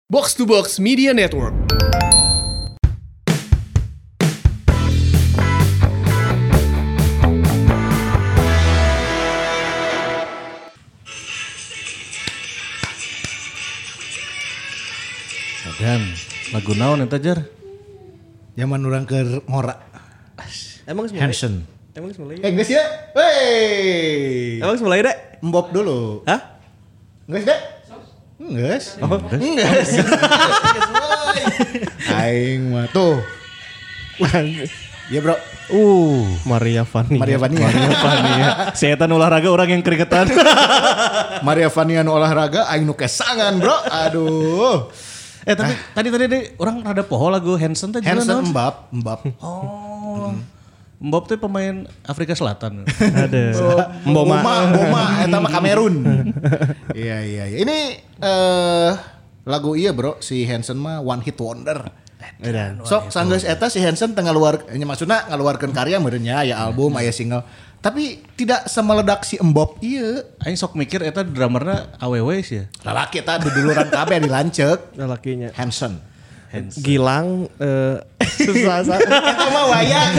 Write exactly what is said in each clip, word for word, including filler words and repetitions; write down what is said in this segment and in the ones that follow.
Box to Box Media Network. Dan lagu naon eta jar? Zaman urang keur ngora. Emang semulai? Hanson. Emang semulai? Eh geus ya? Wey. Emang semulai dek? Mbop dulu. Hah? Geus deh? Geus. Oh, geus. Aing mah tuh. Iya, Bro. Uh, Maria Fanny. Maria Vania. Maria Vania. Saya tan olahraga orang yang keringetan. Maria Vania nu olahraga aing nu kesangan, Bro. Aduh. eh tapi tadi tadi tadi orang rada poho lagu Hanson teh Hanson Mbap, Mbap. Oh. Mbop tuh pemain Afrika Selatan. Ada. Mboma, Mboma, eta mah Kamerun. Iya, iya, iya. Ini eh lagu iya, Bro, si Hanson mah one hit wonder. Edan. Sok sanggeus eta si Hanson tengah luar nya maksudna ngaluarkeun karya meureun nya aya album, aya single. Tapi tidak semeledak si Mbop ieu. Aing sok mikir eta drummerna awewe sih ya. Lalaki eta duduluran kabeh dilanceuk. Lelakinya. Hanson. Gilang eh susah sa. Eta mah wayang.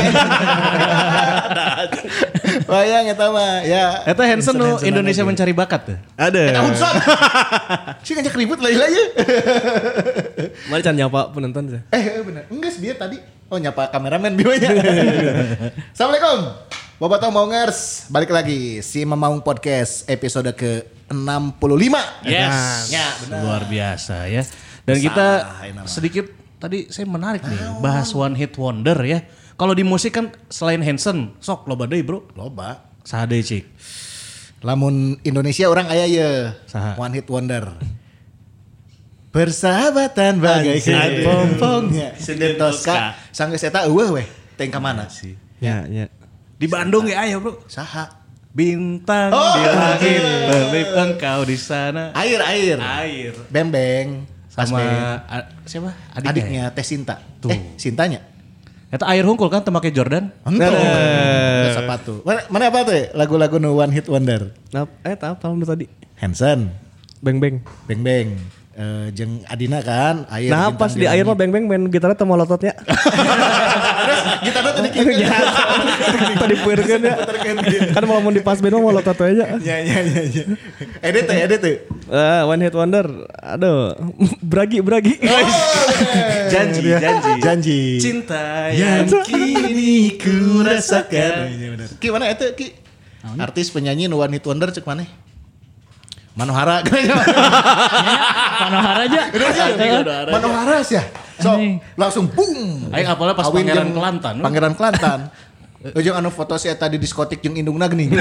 Wayang eta mah ya. Eta Hanson nu Indonesia Mencari Bakat tuh. Ada. Eta Hanson. Si ngajak ribut lah ieu. Mari can nyapa penonton sih. Eh bener. Enggak dia tadi. Oh nyapa kameramen biwanya. Assalamualaikum. Bobotoh Maungers. Balik lagi si Mamaung Podcast episode ke enam puluh lima. Yes. Ya, benar. Luar biasa ya. Dan Besar, kita enak. sedikit tadi saya menarik nih bahas one hit wonder ya. Kalau di musik kan selain Hanson, sok loba deui bro. Loba. Saha deui cik? Lamun Indonesia orang aya ye. Saha? One hit wonder. Persahabatan bagaikan pompongnya. Senden Tosca. Sanggeus eta eueuh weh. Teng ka mana? Ya, ya. Di Bandung ya aya bro. Saha? Bintang Oh, di langit, iya. berlip engkau di sana. Air, air. Air. Bembeng. Sama Pas a- siapa? Adiknya. adiknya Teh Sinta. Tuh. Eh, Sintanya. Eta air hungkul kan temake Jordan. Entuh. Ada sepatu. Mana, mana apa tuh? Lagu-lagu no one hit wonder. Nap, eh apa lu tadi? Hanson, Beng beng. Beng Beng, eh, jeung Adina kan, air. Nah pas di air mah beng beng main gitarnya teu molototnya. Gitarnya tadi kieu. Tadi pueurkeun ya. Kan mau mau di pas band mah molotot aja. Ya ya ya ya. Edit tuh, edit tuh. Eh, one hit wonder. Aduh, bragi bragi. Janji, janji. Janji. Cinta yang yang kini ku rasakan. Ki mana itu Ki? Artis penyanyi no one hit wonder cek mana? Manohara. Manohara aja. Manohara sih ya. So langsung boom. Aing apalnya pas Awin Pangeran jeung Kelantan. Pangeran Kelantan. Ujung anu foto si eta di diskotik jeung indungna geuning.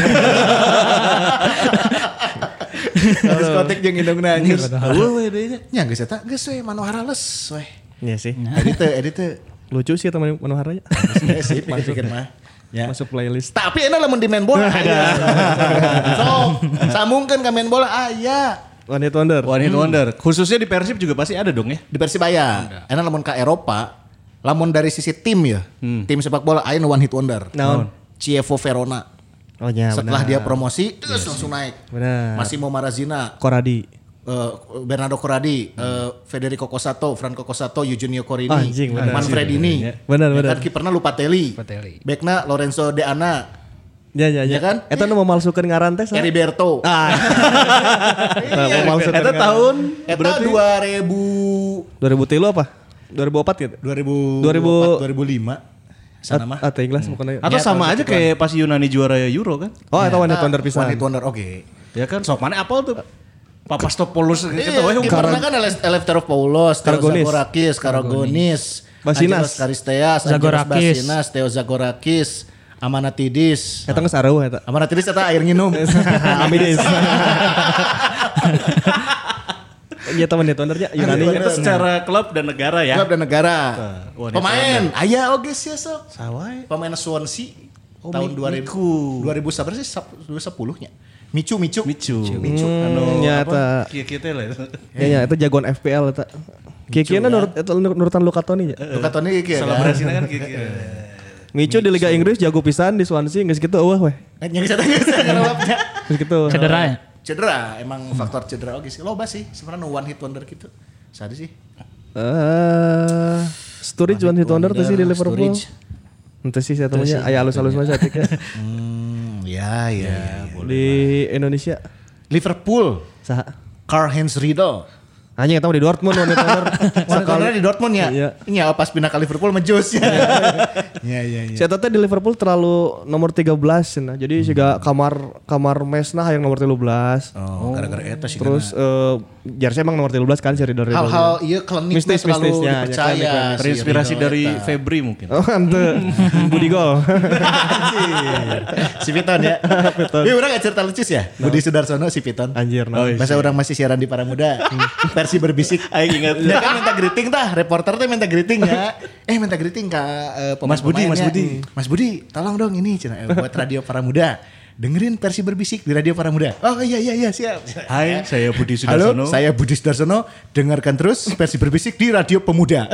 Diskotik jeung indungna anjir. Eueuh we deui nya. Nya geus eta geus we Manohara les we. Iya sih. Edit teh, edit teh. Lucu sih teman Manoharanya. Ya sih, mana pikir mah. Ya. Masuk playlist. Tapi enak lamun di main bola aya. So, sambungkeun ka main bola aya. One hit wonder. One hit wonder. Khususnya di Persib juga pasti ada dong ya. Di Persibaya. Enak lamun ka Eropa, lamun dari sisi tim ya. Tim sepak bola aya nu one hit wonder. Naon? Chievo Verona. Oh ya Setelah benar. dia promosi, terus langsung naik. Benar. Massimo Marazina, Koradi. eh, Bernardo Corradi, eh, Federico Cosato, Franco Cosato, Eugenio Corini, Anjing, benar. Manfredini. Benar, Ya benar. kan kiperna Lupatelli. Lupatelli. Bekna Lorenzo De Anna, Ya ya Ya ya. kan? Eta nu memalsukeun ngaran teh saha? Heriberto. Ah. Iya, memalsukeun Eta ngaran. tahun Eta dua ribu dua ribu tiga apa? dua ribu empat gitu. dua ribu dua ribu dua ribu lima sana mah. Ah, teh Inglas bukan. atau sama aja kayak pas Yunani juara Euro kan? Oh, eta one hit wonder One pisan. hit wonder oke. Ya kan sok mana apal tuh? Papastopoulos gitu Iya, we. kiperna kan Eleftheropoulos, Theo Karagonis. Zagorakis, Karagonis, Basinas. Angelos Karisteas, Angelos Zagorakis. Basinas, Theo Zagorakis, Amanatidis. Eta geus areuh eta. Amanatidis eta air nginum. Amidis. Iya teman hit wondernya Yunani nya. Itu secara klub dan negara ya. Klub dan negara. one hit Pemain, aya oge sih sok. Sawai. Pemain Swansea Oh, tahun Mi- dua ribu. Miku. dua ribu sabar sih dua ribu sepuluh-nya. Micu, Micu. Micu. Micu. Hmm, ya eta. Kieu-kieu teh lah. Ya ya itu jagoan F P L eta. Kieu-kieu nurut eta nurutan Lukatoni nya. Luka Toni kieu kan. Selebrasinya kan kieu-kieu. Micu di Liga Inggris jago pisan di Swansea geus kitu eueuh weh. Nya geus eta geus ngarewapnya. Geus kitu. Cedera ya? Cedera, emang faktor cedera oke sih. Loba sih sebenarnya no one hit wonder gitu. Sadi sih. Eh, Sturridge one hit wonder tuh sih di Liverpool. Sturridge. Ente sih saya temunya aya halus-halus mah saya tiknya. Hmm, ya ya. Di Indonesia Liverpool, saha? Karl-Heinz Riedel. Anjing eta mah di Dortmund one hit wonder. Sekarang di Dortmund ya. Iya. Iya, pas pindah ke Liverpool menjus ya. Iya iya iya. Si eta teh di Liverpool terlalu nomor tiga belas cenah. Jadi siga kamar kamar mesna hayang nomor tiga belas. Oh, gara-gara eta sih. Terus eh jersey emang nomor tiga belas kan si Riddle Riddle. hal-hal iya klinik Mistis, terlalu mistis, ya, ya, dipercaya. klinik, klinik. si Terinspirasi Riedel dari eta. Febri mungkin. Oh, ante. Budi Gol. Si Piton ya. Iya orang gak cerita lucu ya. Budi Sudarsono si Piton. Anjir, nah. Masa orang masih siaran di Para Muda. Versi berbisik. Aing ingat. Dia kan minta greeting tah, reporter tuh minta greeting ya. Eh minta greeting ke uh, Mas Budi, Mas Budi. Mas Budi, tolong dong ini cina, eh, buat Radio Para Muda. Dengerin versi berbisik di Radio Para Muda. Oh iya iya iya siap. Hai, saya Budi Halo, Sudarsono. saya Budi Sudarsono. Dengarkan terus versi berbisik di Radio Pemuda.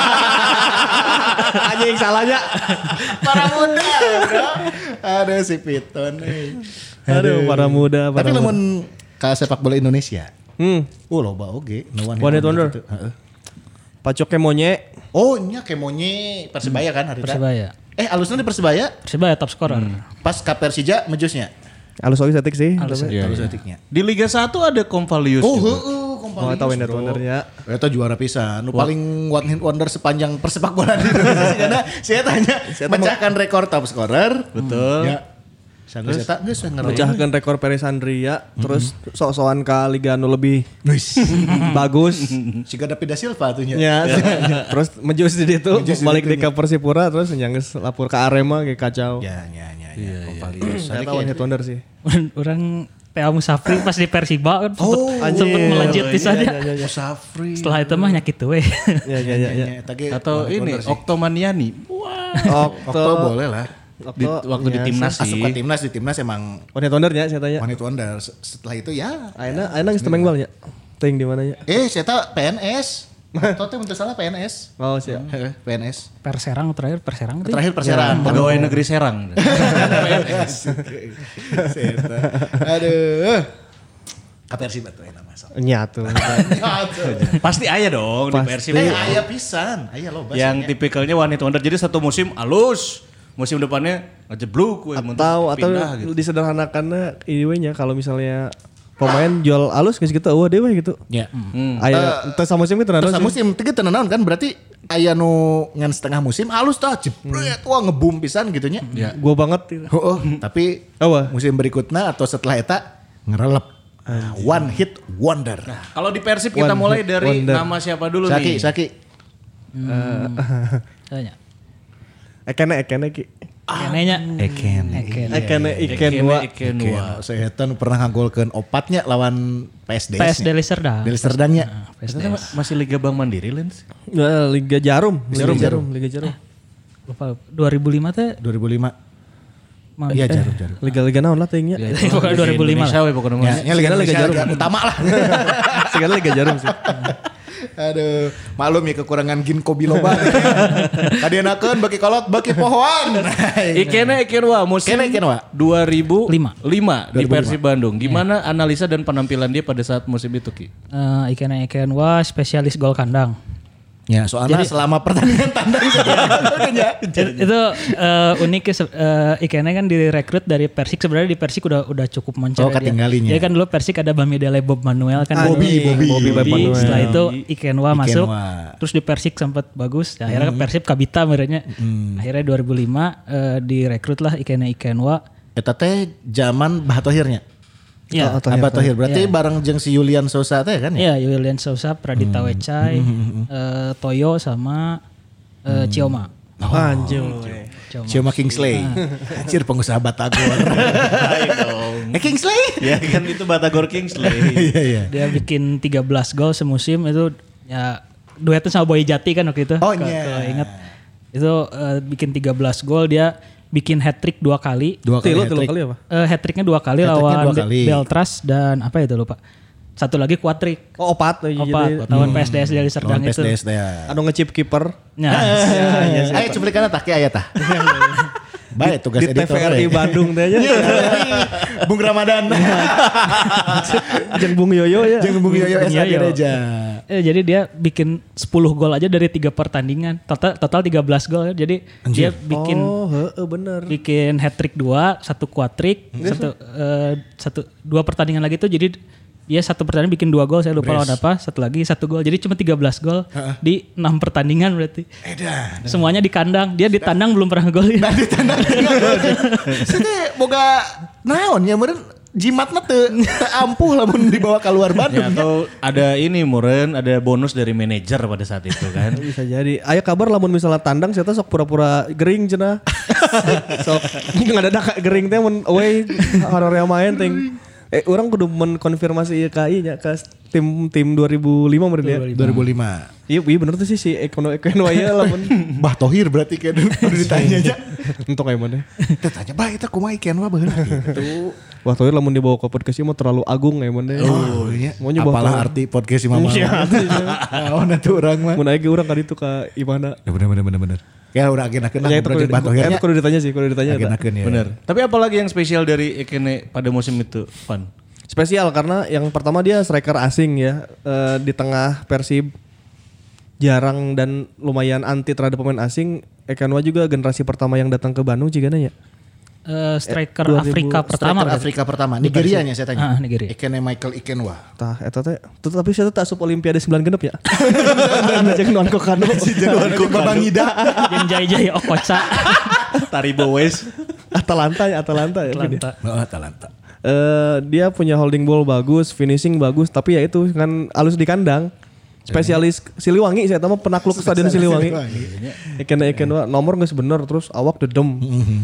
Anjing salahnya. Para Muda, bro. Aduh si Piton. eh. Aduh, para muda, para Tapi muda. lamun ke sepak bola Indonesia. Hmm. Oh loba oge. No One hit wonder. gitu. Heeh. Pacoknya monye. Oh nya kemonye Persebaya kan hari Persebaya. Eh alusnya di Persebaya Persebaya top scorer. pas ke Persija mejusnya. Halus oge satik sih. Halus. tapi- Iya, Alus iya. detiknya. Di Liga satu ada Convalius Oh juga. heeh Oh, Kompalius. eta one hit wondernya. Eta juara pisan. Nu paling one hit wonder sepanjang persepak bola di Indonesia karena saya tanya mecahkan rekor top scorer. Betul. Ya. Sanu eta geus we ngeraih. Mecahkan rekor Peresandria, terus sok-sokan ke liga nu lebih Wis. bagus. Siga David da Silva tuh nya. Ya, terus menjus di situ, Menjus di balik ditu di ke Persipura, terus nyangges lapor ke Arema kayak kacau. Ya ya ya ya. Kompalius. Ternyata one hit wonder sih. Orang T A Musafri pas di Persiba kan sempet, Oh, sempet anjing. melejit di sana. Iya, iya, iya. Musafri. Setelah itu mah nyakit we. Ya, ya, ya, ya. Eta ge Atau one hit ini wonder sih. Oktomaniani. Okto boleh lah. Di, waktu di ya, timnas Asup sih. ke timnas di timnas emang One hit wondernya saya tanya. one hit wonder. Setelah itu ya. Aina, Aina geus temeng balnya. Ting di mana ya? Eh, saya tahu P N S. Tahu teh untuk salah P N S. Oh, siap. Heeh, P N S. Perserang terakhir Perserang tuh. Terakhir Perserang. Pegawai negeri Serang. Seta. Aduh. Ka Persib atuh eta mah. sok. Nyatu. Pasti aya dong di Pasti. Persib. Eh, aya pisan. Aya loba. Yang tipikalnya one hit wonder. Jadi satu musim halus. Musim depannya ngejebluk. we, mentok, Atau atau pindah gitu. disederhanakannya ini nya kalau misalnya pemain jual alus geus gitu eueuh dewe gitu. Ya. Hmm. Aya teu samusim itu Terus naon sih? musim tiga tenan kan berarti aya nu ngan setengah musim halus tah jebret wah ngebum pisan gitu nya. Ya. Gua banget. gitu. Oh, tapi Apa? musim berikutnya atau setelah eta ngerelep. Ah, one hit wonder. Kalau di Persib kita One mulai hit dari wonder. nama siapa dulu Saki, nih? Saki. Tanya. Ekene ekene ki. Kenenya. Eken. Eken. Ekene iken Ekene, wa. Ekenwa. Saya eta nu pernah ngagolkeun opatnya lawan P S D. P S D Liserdang. Deli Serdangnya. Nah, P S D. Ternyata ma- masih Liga Bank Mandiri Lens. Nah, Liga Jarum, Liga Jarum, Jarum, Liga Jarum. Lupa dua ribu lima teh. dua ribu lima. Mah- Iya jarum jarum. Liga-liga naon lah teuingnya. Pokoknya dua ribu lima Indonesia lah. we pokoknya Ya, mah. ya Liga Liga Liga Jarum. Jarum utama lah. Segala Liga Jarum sih. Aduh, maklum ya kekurangan ginkgo biloba. Kadienakeun bagi kolot bagi pohon. Ikene Ekenwa musim Ikene Ekenwa. dua ribu Lima. lima di dua ribu lima. Persib Bandung. Gimana analisa dan penampilan dia pada saat musim itu Ki? Eh, Iken Iken wah spesialis gol kandang. Ya, soalnya selama pertandingan tandang ya. Itu eh, unik ya se- eh, Ikene kan direkrut dari Persik, sebenarnya di Persik udah udah cukup moncer. Oh, dia. ketinggalinya. Jadi kan dulu Persik ada Bamidele Bob Manuel kan. Bobby, Bobby, Bobby Manuel. Setelah itu Ikenwa masuk. Ikenwa. Terus di Persik sempat bagus. Ya, akhirnya Persib Kabita merenya. Akhirnya dua ribu lima eh, direkrut lah Ikene Ikenwa. Eta teh zaman Bahatohirnya. Iya. Tohir, Abah Tohir. Berarti Iya. bareng jeung si Julian Sosa teh kan ya? Iya, Julian Sousa, Pradita Wecai, eh, Toyo sama eh, Cioma. Anjir. Cioma. Cioma Kingsley. Anjir pengusaha Batagor. Eh Kingsley? Ya kan itu Batagor Kingsley. Iya iya. Dia bikin tiga belas gol semusim itu ya duetnya sama Boy Jati kan waktu itu. Oh, Kalau- iya. kalau ingat. Itu eh, bikin tiga belas gol, dia bikin hat trick dua kali. Dua kali Tilu, tilu hat-trick. kali apa? Eh hat tricknya dua kali Hat-tricknya lawan dua Be- kali. Beltras dan apa itu lupa. Satu lagi kuatrik. Oh, opat. oh, iya, Opat, jadi- lawan P S D S dari Serdang Lawan itu. P S D S teh. ya. Anu ngechip kiper. Nah, Ayo cuplikanna tah ke aya tah. Baik tugas Di T V editor. R I we. Bandung teh nya. Bung Ramadan. Jeung Bung Yoyo ya. Jeung Bung Yoyo S A Yoyo. Gereja. Eh, jadi dia bikin sepuluh gol aja dari tiga pertandingan. Total total tiga belas gol. Jadi dia bikin Oh, heeh bener. bikin hat trick dua, satu quadrick, satu eh, satu dua pertandingan lagi tuh jadi dia satu pertandingan bikin dua gol, saya lupa lawan apa, satu lagi satu gol. Jadi cuma tiga belas gol di enam pertandingan berarti. Edan. Semuanya di kandang. Dia di tandang belum pernah golin. Nah di tandang. Saya boga naon ya meureun jimatna teu teu ampuh lamun dibawa keluar Ya, Bandung. atau ada ini Muren, ada bonus dari manajer pada saat itu kan. Bisa jadi. Aya kabar lamun misalnya tandang saya sok pura-pura gering cenah. Sok ngadadak gering teh mun away honornya main ting. Eh orang kudu menkonfirmasi K I nya ke tim tim dua ribu lima meureun ya. dua ribu lima. Iya, iya bener tuh sih si Ekono Ekono aya lamun Bah Tohir berarti kan udah ditanya aja. entok kayak mana. Teu tanya bah eta kumaha ikan mah baheula gitu. Wah, Tohir lamun dibawa ke podcast ieu mah terlalu agung kayak mana. Oh iya. Mau nyoba Apalah Tohir. arti podcast si Mama. Naon atuh urang mah. Mun aya ge urang ka ditu ka Imana. Ya bener bener bener bener. Ya udah agen-agen lah Ya itu ngobrol kudu, jeung Bah Tohirnya. itu kudu ditanya sih, kudu ditanya. eta. Agen-agen ya. Bener. Tapi apalagi yang spesial dari Ekene pada musim itu, Van? Spesial karena yang pertama dia striker asing ya, eh, di tengah Persib jarang dan lumayan anti terhadap pemain asing. Ekanwa juga generasi pertama yang datang ke Bandung cigana ya. Eh, striker dua ribu Afrika pertama. Striker berarti. Afrika pertama. Nigeria nya saya tanya. Ah, Nigeria. Ikene Michael Ikenwa. Tah eta teh tuh, tapi saya tak asup Olimpiade sembilan genep ya. Jeung nuan kokano. Babang Ida. Yang jaya-jaya Okocha. Taribo West. Atalanta ya, Atalanta ya. Atlanta. Oh, Atalanta. Eh, dia punya holding ball bagus, finishing bagus, tapi ya itu kan halus di kandang. Spesialis Siliwangi saya tahu penakluk stadion Siliwangi. Ikan ikan nomor geus bener terus awak dedem.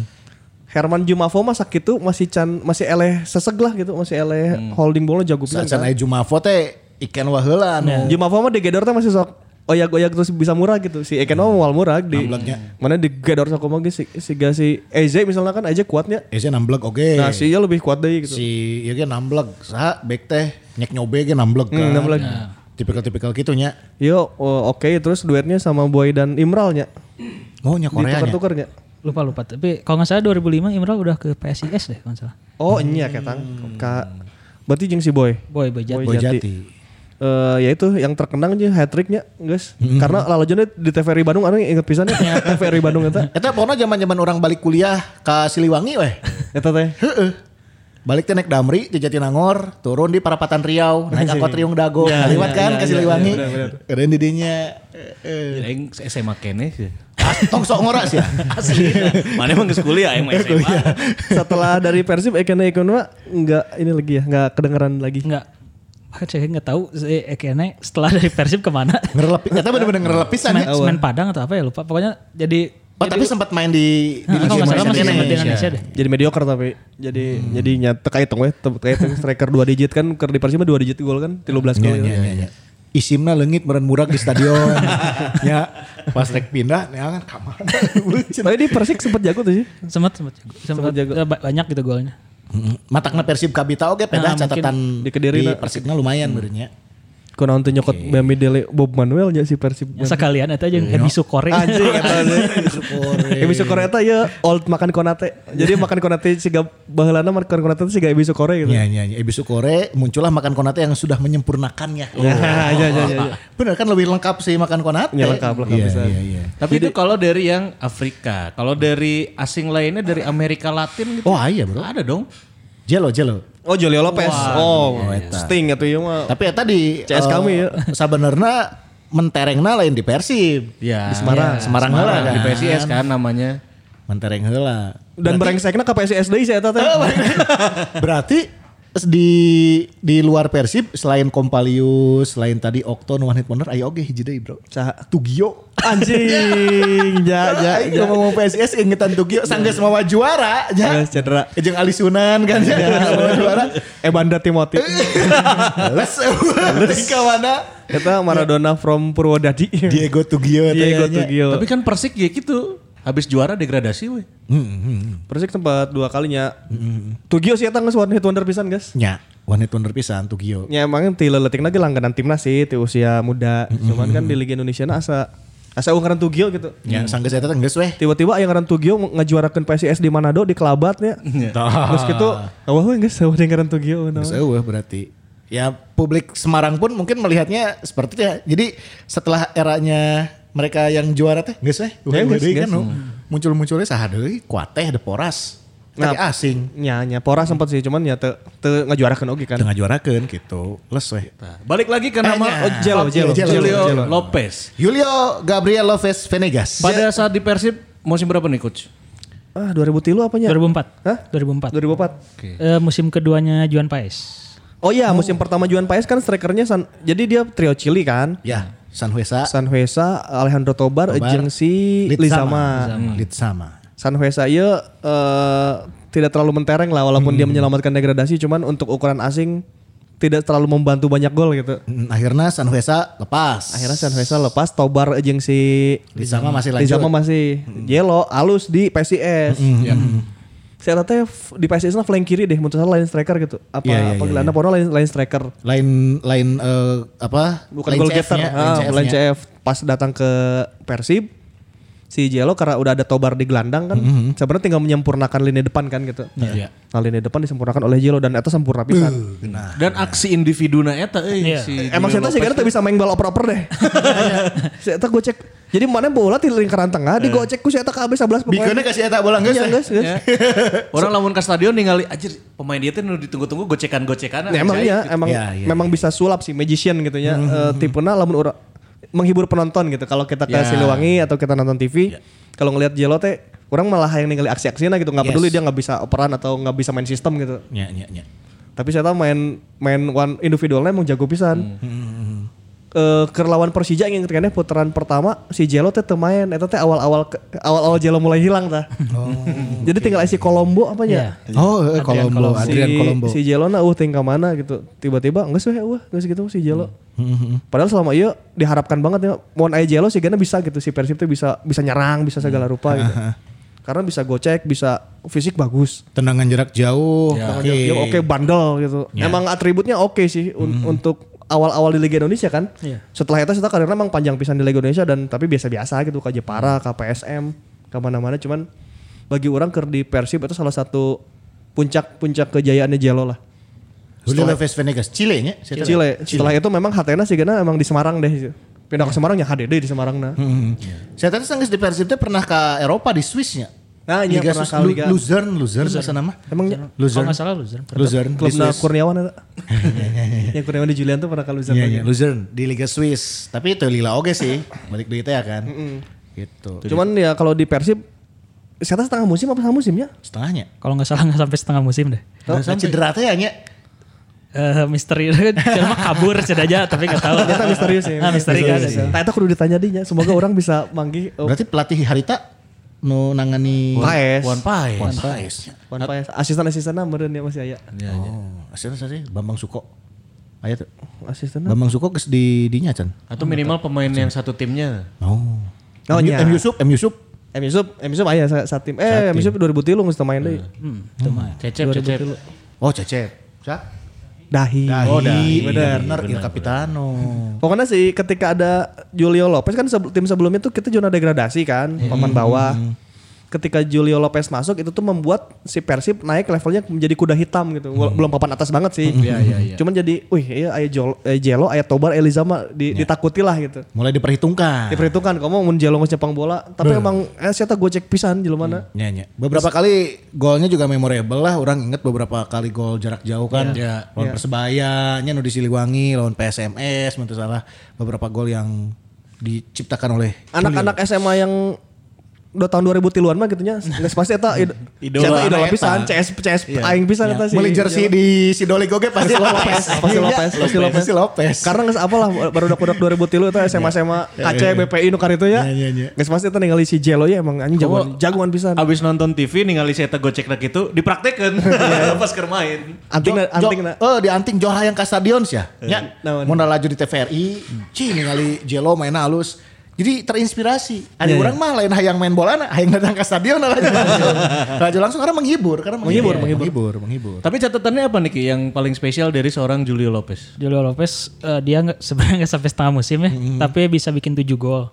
Herman Jumafo mah sakit tuh masih can masih eleh seseg lah gitu, masih eleh holding ballnya jago pisan. Saat Kan. aya Jumafo teh Ikenwa heula anu. Jumafo mah digedor teh masih sok oyak-oyak terus bisa murah gitu. Si Eken mah moal murah di Nambleknya. mana digedor sok mah si si si Eze misalnya kan aja kuatnya. Ese namblek oge. Nah, si lebih kuat deh gitu. Si ieu ge namblek saha bek teh nyek nyobe ge namblek kan. Hmm, namblek. Tipikal-tipikal gitunya. Yo, oh, oke terus duetnya sama Boy dan Imral nya. Oh nya Korea nya. Ditukar-tukarnya. Lupa lupa. Tapi kalau nggak salah dua ribu lima Imral udah ke P S I S deh kalau nggak salah. Oh, iya ketang. Ka berarti jeung si Boy. Boy Boy Jati. Boy Jati. Eh ya itu yang terkenang aja hat tricknya, guys. Karena lalojona di T V R I Bandung anu inget pisan ya T V R I Bandung eta. Eta pokoknya zaman-zaman orang balik kuliah ke Siliwangi weh. Eta teh. Heeh. Balik teh naik Damri di Jatinangor, turun di Parapatan Riau, naik angkot Riung Dago, lewat kan ke Siliwangi. Keren di dinya. Ya, Aing S M A kene sih. Tong sok ngoras ya. Asli. Mana emang geus kuliah aing mah S M A. Setelah dari Persib Ekene Ekonwa enggak ini lagi ya, enggak kedengeran lagi. Enggak. Bahkan saya nggak tahu si Ekene setelah dari Persib kemana. Ngerelep, eta bener-bener ngerelep pisan Semen, ya. semen Padang atau apa ya lupa. Pokoknya jadi. Oh tapi sempat main di di Nah, kalau nggak salah masih Indonesia. sempat di Indonesia deh. Jadi mediocre tapi jadi jadi nyata kayak hitung we, kayak hitung striker dua digit kan keur di Persib mah dua digit gol kan, tiga belas gol. Iya, iya, iya. Isimna leungit meureun murag di stadion. Ya, pas rek pindah nya kan kamar. Tapi di Persik sempat jago tuh sih. Sempat sempat sempat jago. eh, ba- banyak gitu golnya. Matakna Persib Kabita oge pedah Nah, catatan di Kediri di na. Persibna lumayan beureunya. Kunaon teu nyokot Bami Dele Bob Manuel nya si Persib. Ya, sekalian itu aja Ebi Sukore. Anjing eta Ebi Sukore eta ya old makan konate. Jadi makan konate siga baheulana makan konate siga Ebi Sukore gitu. Iya iya iya. Ebi Sukore muncullah makan konate yang sudah menyempurnakannya. Ya, iya iya iya. Bener kan lebih lengkap sih makan konate. Ya, lengkap, lengkap Iya, bisa. Iya iya. Tapi itu kalau dari yang Afrika, kalau dari asing lainnya dari Amerika Latin gitu. Oh iya bro. Ada dong. Jelo Jelo. Oh Julio Lopez. Oh, eta. Sting atuh ieu mah. Tapi eta di C S kami ya. Sabenerna menterengna lain di Persib. Ya. Di Semarang. Semarang heula Di kan. P S I S kan namanya. Mentereng heula. Dan brengsekna ke P S I S deui saya eta teh. Berarti di di luar Persib selain Kompalius, selain tadi Okto nu one hit wonder aya oge hiji deui bro. Saha? Tugio. Anjing, ja ja Aing ja. ngomong P S I S ingetan Tugio sanggeus mawa juara ja. Geus cedera. Jeung Ali Sunan kan ja. Mawa juara. Eh Banda Timothy. Les les ka mana? Eta Maradona from Purwodadi. Diego Tugio Diego tanya. Tugio. Tapi kan Persik ya gitu. Habis juara degradasi weh. Persik sempat dua kalinya. Tugio sih eta geus one hit wonder pisan, guys. Nya, one hit wonder pisan Tugio. Ya emang ti leuletik lagi langganan timnas sih ti usia muda. Cuman kan di Liga Indonesia na asa asa ngaran Tugio gitu. Nya sanggeus eta teh geus weh. Tiba-tiba aya ngaran Tugio ngajuarakeun P S I S di Manado di Kelabatnya. Terus gitu, awah we geus awah ngaran Tugio. Geus eueuh berarti. Ya publik Semarang pun mungkin melihatnya seperti itu ya. Jadi setelah eranya mereka yang juara teh geus we. Ya, geus, kan geus. no. Muncul-munculnya saha deui kuat teh ada Poras. Tapi Nah, asing. Nya nya Pora sempat sih cuman ya teu teu ngajuarakeun oge kan. Tengah juarakeun gitu. Les we. Balik lagi ke nama Eh, Oh, Jelo, Jelo, Jelo, Julio Jelo. Lopez. Julio Gabriel Lopez Venegas. Pada saat di Persib musim berapa nih coach? Ah dua ribu tiga apanya? dua ribu empat. Hah? dua ribu empat. dua ribu empat. Eh, musim keduanya Juan Paes. Oh iya, musim pertama Juan Paes kan strikernya San, jadi dia trio Chili kan. Ya, Sanhuesa. Sanhuesa, Alejandro Tobar, Tobar, jeung si Lizama. Litsama. Sanhuesa ieu eh, tidak terlalu mentereng lah walaupun dia menyelamatkan degradasi, cuman untuk ukuran asing tidak terlalu membantu banyak gol gitu. Hmm, Akhirnya Sanhuesa lepas. Akhirnya Sanhuesa lepas, Tobar jeung si Litsama masih lanjut. Lizama masih Jelo alus di P S I S. Saya rata di P S I S lah flank kiri deh, menurut saya lain striker gitu. Apa Iya, iya, panggilannya iya. Pono lain lain striker. Lain lain eh, apa? Bukan Lain goal C getter. F-nya, Ah, lain lain C F-nya. C F. Pas datang ke Persib, si Jelo karena udah ada Tobar di gelandang kan, sebenarnya tinggal menyempurnakan lini depan kan gitu. Iya. Nah lini depan disempurnakan oleh Jelo dan itu sempurna pisan. Dan aksi individuna eta euy Iya. si Emang Julio saya sih Lopez karena tuh bisa main bal oper-oper deh. Saya gue cek. Jadi mana bola di lingkaran tengah, di gocek ku saya tak habis sebelas pemain. Bikeunnya kasih eta bola geus. Iya, geus, geus. Ya. Orang lamun ke stadion ningali anjir pemain dia teh nu ditunggu-tunggu gocekan-gocekan. Nah, emang iya, emang Ya, iya, memang bisa sulap sih magician gitu ya. Eh, tipena lamun ora menghibur penonton gitu. Kalau kita ke Ya. Siliwangi atau kita nonton T V, kalau ngelihat Jelo teh orang malah yang ningali aksi-aksinya gitu, nggak Yes. peduli dia nggak bisa operan atau nggak bisa main sistem gitu. Nya nya nya. Tapi saya tahu main main one individualnya emang jago pisan. Hmm. Eh ke lawan Persija yang kayaknya putaran pertama si Jelo teh teu main, eta teh awal-awal ke- awal-awal Jelo mulai hilang tah. Jadi tinggal isi Kolombo apa ya? Oh, eh, Adrian Kolombo, Kolombo. Adrian si, Kolombo. si Jelo na uh tinggal mana gitu. Tiba-tiba geus we uh geus gitu si Jelo. Padahal selama iya diharapkan banget ya mun aya Jelo sih gana bisa gitu si Persib tuh bisa bisa nyerang, bisa segala rupa gitu. Karena bisa gocek, bisa fisik bagus. Tendangan jarak jauh. Oke. Ya, oke bandel gitu. Ya. Emang atributnya oke sih un- untuk awal-awal di Liga Indonesia kan. Iya. Setelah itu kita karirnya emang panjang pisan di Liga Indonesia dan tapi biasa-biasa gitu ke Jepara, ke P S M, ke mana-mana cuman bagi orang ker di Persib itu salah satu puncak-puncak kejayaannya Jelo lah. Julio Lopez Venegas, Chile nya. Chile. Setelah itu memang hatena sih gana emang di Semarang deh. Pindah ke Semarang ya H D D di Semarang nah. Saya tadi sanggeus di Persib teh pernah ke Eropa di Swissnya. Nah, iya Liga pernah Swiss, ke Lu- Liga. Luzern, Luzern bahasa nama. Emangnya Kalau Luzern. nggak salah loser. Luzern di klubnya Swiss. Kurniawan ada. Yang Kurniawan di Julian tuh pernah ke Luzern. Iya, lagi. iya, Luzern di Liga Swiss. Tapi itu lila oge sih. Balik deui teh ya kan. Gitu. Cuman ya kalau di Persib saya tahu setengah musim apa setengah musim ya? Setengahnya. Kalau nggak salah nggak sampai setengah musim deh. Oh, cedera teh ya nya. Eh misteri cuma kabur aja tapi nggak tahu. Ternyata misterius ya. Ah, misteri kan. Nah itu kudu ditanya dinya. Semoga orang bisa manggih. Oh, Berarti pelatih Harita nu nangani Paes. Wan Paes. Wan Paes. Wan Paes. Asisten-asistennya meureun ya masih aya. Oh, aslinya sih Bambang Suko. Aya tuh. Asistennya. Bambang Suko geus di dinya can. Atau minimal pemain yang satu timnya. Oh. Oh, M, iya. M Yusuf, M Yusuf. M Yusuf, M Yusuf aya sa- sa tim. Eh, M Yusuf dua ribu tiga geus teu main deui. Hmm, itu mah. Cecep, cecep. Oh, Cecep. Siap. Dahi. Oh, Dahi. bener. Bener, Il Capitano. Pokoknya sih ketika ada Julio Lopez kan sebe- tim sebelumnya tuh kita zona degradasi kan, papan bawah. Ketika Julio Lopez masuk itu tuh membuat si Persib naik levelnya menjadi kuda hitam gitu. Wala- Belum papan atas banget sih. Iya, iya, iya. Cuman jadi, wih, iya aya Jol- eh, Jelo, aya Tobar, Elizama di, ditakuti lah gitu. Mulai diperhitungkan. Diperhitungkan kamu mun Jelo ngecepang bola, tapi emang eh saya gue cek pisan jelema. Ya, ya. Beberapa kali golnya juga memorable lah. Orang inget beberapa kali gol jarak jauh kan. Ya. Lawan Persebaya, nya nu di Siliwangi, lawan P S M S, menurut salah. Beberapa gol yang diciptakan oleh Anak-anak S M A yang udah tahun dua ribu tiluan mah gitu nya. Geus pasti eta id- Idola. Eta idola Eta. pisan, C S C S Iya. aing pisan eta sih. Beli jersey di Sidoli Goge pasti Lopez. Pasti Lopez, pasti Lopez. Pasti Lopez. Karena geus apalah baru udah dua ribu tilu eta S M A S M A K C B P I nu karitu ya. Iya, iya, iya. Geus pasti eta ningali si Jelo ya emang anjing jagoan jagoan pisan. Abis nonton T V ningali saya gocek rak itu dipraktekeun pas keur main. Anting Jo- anting Jo- Eh di anting Joh hayang ka stadion ya. Nya. Naon? Mun laju di T V R I, cing ningali Jelo main halus. Jadi terinspirasi. Ada Iya, orang mah lain hayang main bola, hayang datang ke stadion laju langsung. Laju langsung karena menghibur, karena menghibur, menghibur, menghibur, menghibur. Tapi catatannya apa nih Ki yang paling spesial dari seorang Julio Lopez? Julio Lopez eh, dia nggak sebenarnya nggak sampai setengah musim ya, tapi bisa bikin tujuh gol.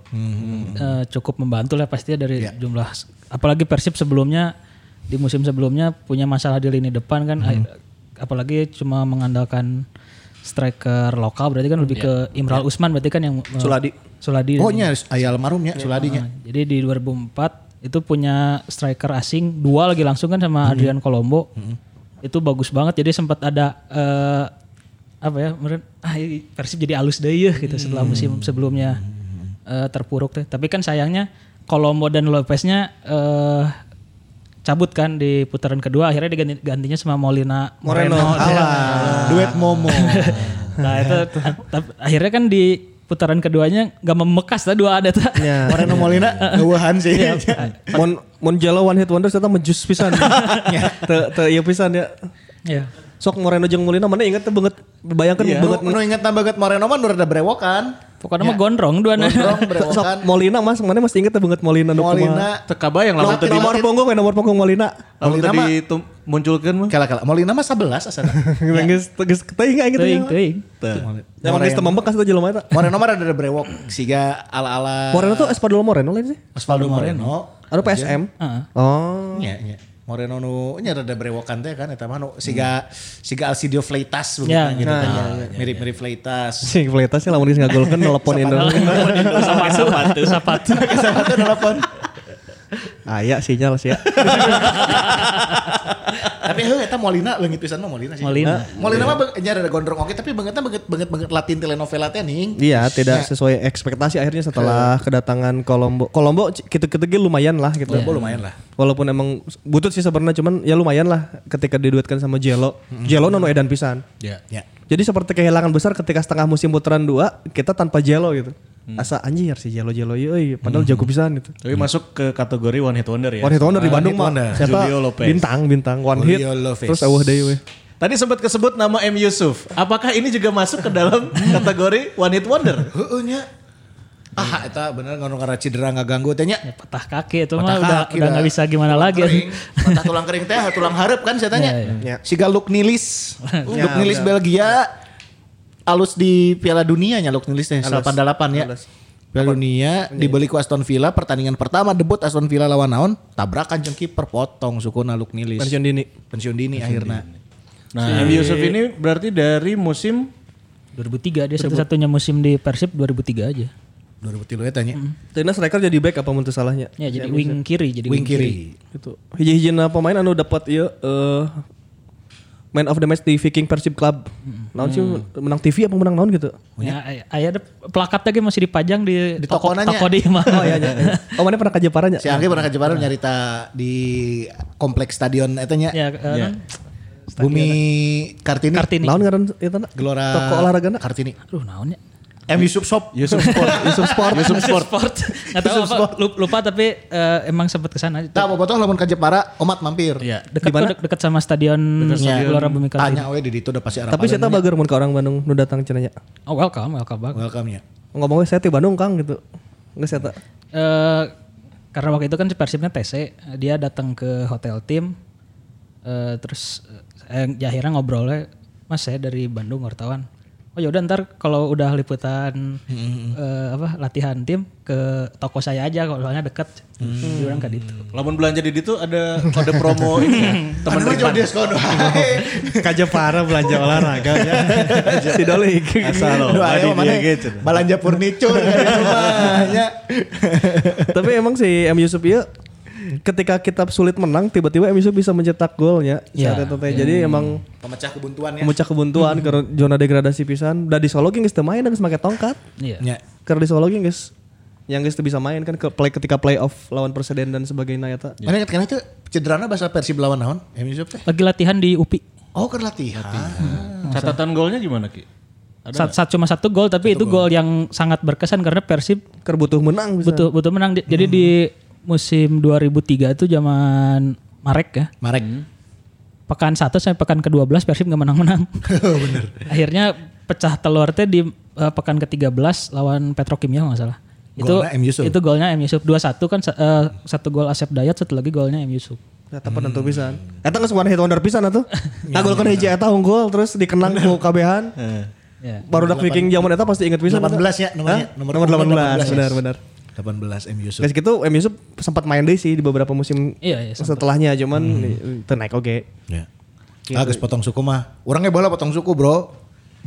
Eh, cukup membantu lah pasti ya dari jumlah. Apalagi Persib sebelumnya di musim sebelumnya punya masalah di lini depan kan, apalagi cuma mengandalkan striker lokal berarti kan lebih ke Imral Usman berarti kan yang uh, Suladi. Suladi. Oh nya aya almarhumnya Suladinya. Nah, jadi di dua ribu empat itu punya striker asing dua lagi langsung kan sama Hmm. Adrian Colombo. Hmm. Itu bagus banget jadi sempat ada uh, apa ya meren, ah Persib jadi alus deh ya gitu setelah musim sebelumnya uh, terpuruk teh. Tapi kan sayangnya Colombo dan Lopeznya uh, cabut kan di putaran kedua akhirnya diganti gantinya sama Molina Moreno. Moreno. Alah, duet Momo. Nah itu t- akhirnya kan di putaran keduanya gak membekas lah dua ada tuh. Ya. Moreno Molina ngeueuhan sih. Mon Mon Jalo one hit wonder ternyata menjus pisan. Te te ieu pisan ya. Iya. Sok Moreno jeung Molina mana inget teh banget bayangkan Iya. banget Nu inget banget Moreno mah nu rada brewokan. Pokoknya mah gondrong dua Gondrong sok brewokan. Molina Mas mana masih inget teh banget Molina nu kumaha. Molina. Teka bayang lamun Nomor, tadi nomor punggung we nomor punggung Molina. lamun Molina tadi mah- tum- munculkeun mah. Kala-kala Molina mah sebelas asana. Geus geus teuing inget Teuing, teuing. Emang geus teu membekas teh jelema eta. Moreno mah rada brewok siga ala-ala Moreno tuh Espadolo Moreno lain sih. Osvaldo Moreno. Anu P S M. Heeh. Oh. Nya nya. Moreno nu nya rada brewokan teh kan eta mah nu siga siga Alcidio Fleitas begitu Ya, gitu. nah, tah. ya, Mirip-mirip Fleitas. Si Fleitas lamun geus ngagolkeun telepon Indo. Sepatu, sepatu, sepatu. Sama tuh telepon. Aya sinyal sih ya. Tapi heuh eta Molina leungit pisan mah Molina sih. Molina. Molina mah beung- nya rada gondrong oke tapi beungeutna beungeut beungeut beungeut Latin telenovela teh ning. Iya, tidak sesuai ekspektasi akhirnya setelah kedatangan Kolombo. Kolombo gitu-gitu ge lumayan lah gitu. Kolombo lumayan lah. Walaupun emang butut sih sebenarnya cuman ya lumayan lah ketika diduetkan sama Jelo. Jelo nono edan pisan. Ya. Ya. Jadi seperti kehilangan besar ketika setengah musim putaran dua kita tanpa Jelo gitu. Asa anjir si Jelo Jelo euy padahal jago pisan gitu. Tapi masuk ke kategori one hit wonder ya. One hit wonder di One Bandung hit mah. wonder. Siapa? Julio Lopez. Bintang bintang one hit. Julio Lopez. Terus eueuh deui we. Tadi sempat kesebut nama M Yusuf. Apakah ini juga masuk ke dalam kategori one hit wonder? Heueuh nya. Ah eta bener ngono karena cedera ngaganggu teh nya. Ya, patah kaki itu Patah mah udah kaki udah dah. nggak bisa gimana Tulang lagi. kering. Patah tulang kering teh tulang hareup kan saya tanya. Ya. Siga Luke Nilis. Luke Ya, Nilis udah. Belgia alus di Piala Dunia nya Luke Nilis teh delapan delapan ya. Alus. Piala Dunia dibeli ku Aston Villa pertandingan pertama debut Aston Villa lawan naon tabrakan jeung kiper potong sukuna Luke Nilis. Pensiun dini. Pensiun dini akhirnya. Nah, M Yusuf ini berarti dari musim dua ribu tiga dia satu-satunya musim di Persib dua ribu tiga aja. dua ribu tiga ya tanya. Teuina striker jadi back apa mun teu salahnya? Ya jadi wing kiri jadi Wing kiri. Itu hiji-hijina pemain anu dapat ieu eh man of the match di Viking Persib Club. Naon sih menang T V apa menang naon gitu? Ya, ay- aya ada plakatnya ge masih dipajang di, Di toko tokonanya. toko di mah. Oh iya iya. Oh mana pernah ka Jepara nya? Si Anggi pernah ke Jepara nyarita di kompleks stadion eta nya. Ya, eh, non? Bumi Kartini. Kartini. Naon ngaran eta? Gelora Toko olahragana? Kartini. Aduh naonnya? M Yusuf Shop. Yusuf Sport. Yusuf Sport. Yusuf Sport. Sport. Nggak tahu apa, lupa, lupa tapi eh, emang sempat kesana. Tah bobotoh lamun ka Jepara omat mampir. Iya. Dekat Di mana? tuh, dekat sama stadion Gelora Bumi Kartini. Tanya we di ditu udah pasti arah. Tapi saya tahu bager mun ka orang Bandung nu datang cenah nya. Oh welcome, welcome banget. Welcome nya. Ngomongnya saya di Bandung Kang gitu. Geus eta. Eh, karena waktu itu kan si Persibnya T C, dia datang ke hotel tim, eh, terus eh, ya akhirnya ngobrolnya, Mas saya dari Bandung wartawan. Oh yaudah ntar kalau udah liputan eh, apa latihan tim ke toko saya aja kalau soalnya deket. Dia bilang kayak gitu. Lamun belanja di itu ada kode promo ini ya. Teman Temen Riman. diskon. Ka Jepara belanja olahraga ya. Si Dolik. Asal lo. Aduh ayo Adi mana dia gitu. balanja furniture di rumahnya. Tapi emang si M Yusuf ieu ketika kita sulit menang tiba-tiba M Yusuf bisa mencetak golnya Ya. saat itu teh. Jadi emang Pemecah kebuntuan ya. memecah kebuntuan ke zona degradasi pisan. Da di Solo ge geus teu main geus make tongkat. Iya. Nya. Keur di Solo ge geus yang geus teu bisa main kan ke play ketika playoff lawan Perseden dan sebagainya eta. Mana ingat kan itu cederana bahasa Persib lawan naon? M Yusuf teh. Lagi latihan di U P I. Oh keur latihan. Catatan golnya gimana Ki? Sat, sat- cuma satu gol tapi itu gol yang sangat berkesan karena Persib Keur butuh menang bisa. butuh butuh menang. Di- Jadi di musim dua ribu tiga itu zaman Marek ya. Marek. Pekan satu sampai pekan ke dua belas Persib gak menang-menang. Bener. Akhirnya pecah telur teh di eh, pekan ke tiga belas lawan Petrokimia kalau nggak salah. Itu Golnya M. Yusuf. itu golnya M Yusuf dua satu kan eh, satu gol Asep Dayat satu lagi golnya M Yusuf. Eta penentu pisan. Eta geus one hit wonder pisan atuh. Ngagolkeun hiji eta unggul terus dikenang ku kabehan. Ya. Baru dak Viking zaman eta pasti inget pisan. delapan belas ya nomornya. Hah? Nomor delapan belas benar benar. delapan belas M Yusuf. Guys gitu M Yusuf sempat main deh sih di beberapa musim Iya, iya, sempat. setelahnya cuman hmm. naik oke. Ya. Ah geus potong suku mah. Orangnya bola potong suku, Bro.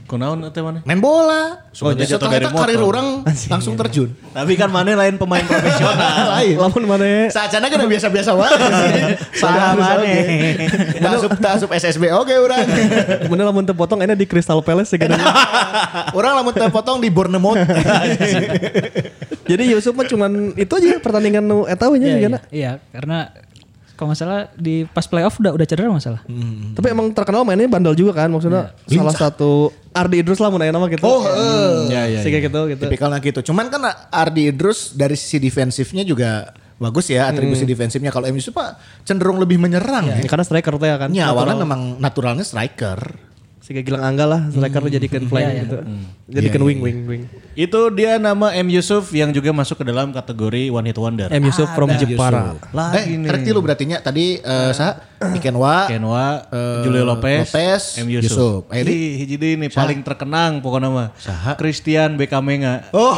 Kunaon teh mana? Main bola. Oh, jadi jatuh setelah dari itu karir motor. orang langsung terjun. Tapi kan mana lain pemain profesional. Lain. Lamun mana? Saacana kan biasa-biasa wae. Salah mana? Tak asup tak asup S S B oke urang. Bener lamun teu potong ini di Crystal Palace segala. Orang lamun teu potong di Bournemouth. Jadi Yusuf mah cuman itu aja pertandingan nu eta we nya Iya, sigana. iya, iya, karena kalau nggak salah di pas playoff udah udah cedera masalah. Hmm. Tapi emang terkenal mainnya bandel juga kan maksudnya salah satu Ardi Idrus lah mun aya nama gitu. Oh, heeh. Ya ya. Sih kayak gitu gitu. Tipikalnya gitu. Cuman kan Ardi Idrus dari sisi defensifnya juga bagus ya atribusi defensifnya. Kalau M U Pak cenderung lebih menyerang ya. Karena striker teh ya kan. Ya awalnya memang naturalnya striker. Si Gilang Angga lah striker dijadikan flank Iya, iya. gitu. Jadikan Iya, wing iya, wing wing. Itu dia nama M Yusuf yang juga masuk ke dalam kategori one hit wonder. M Yusuf from Jepara. Lagi Eh, correct lu berarti nya tadi eh sa Ikenwa, Kenwa, eh, Julio Lopez, Lopez, M Yusuf. Yusuf. Ayo, Di. Ini hiji deui nih paling terkenang pokoknya mah. Saha? Christian Bekamenga. Oh.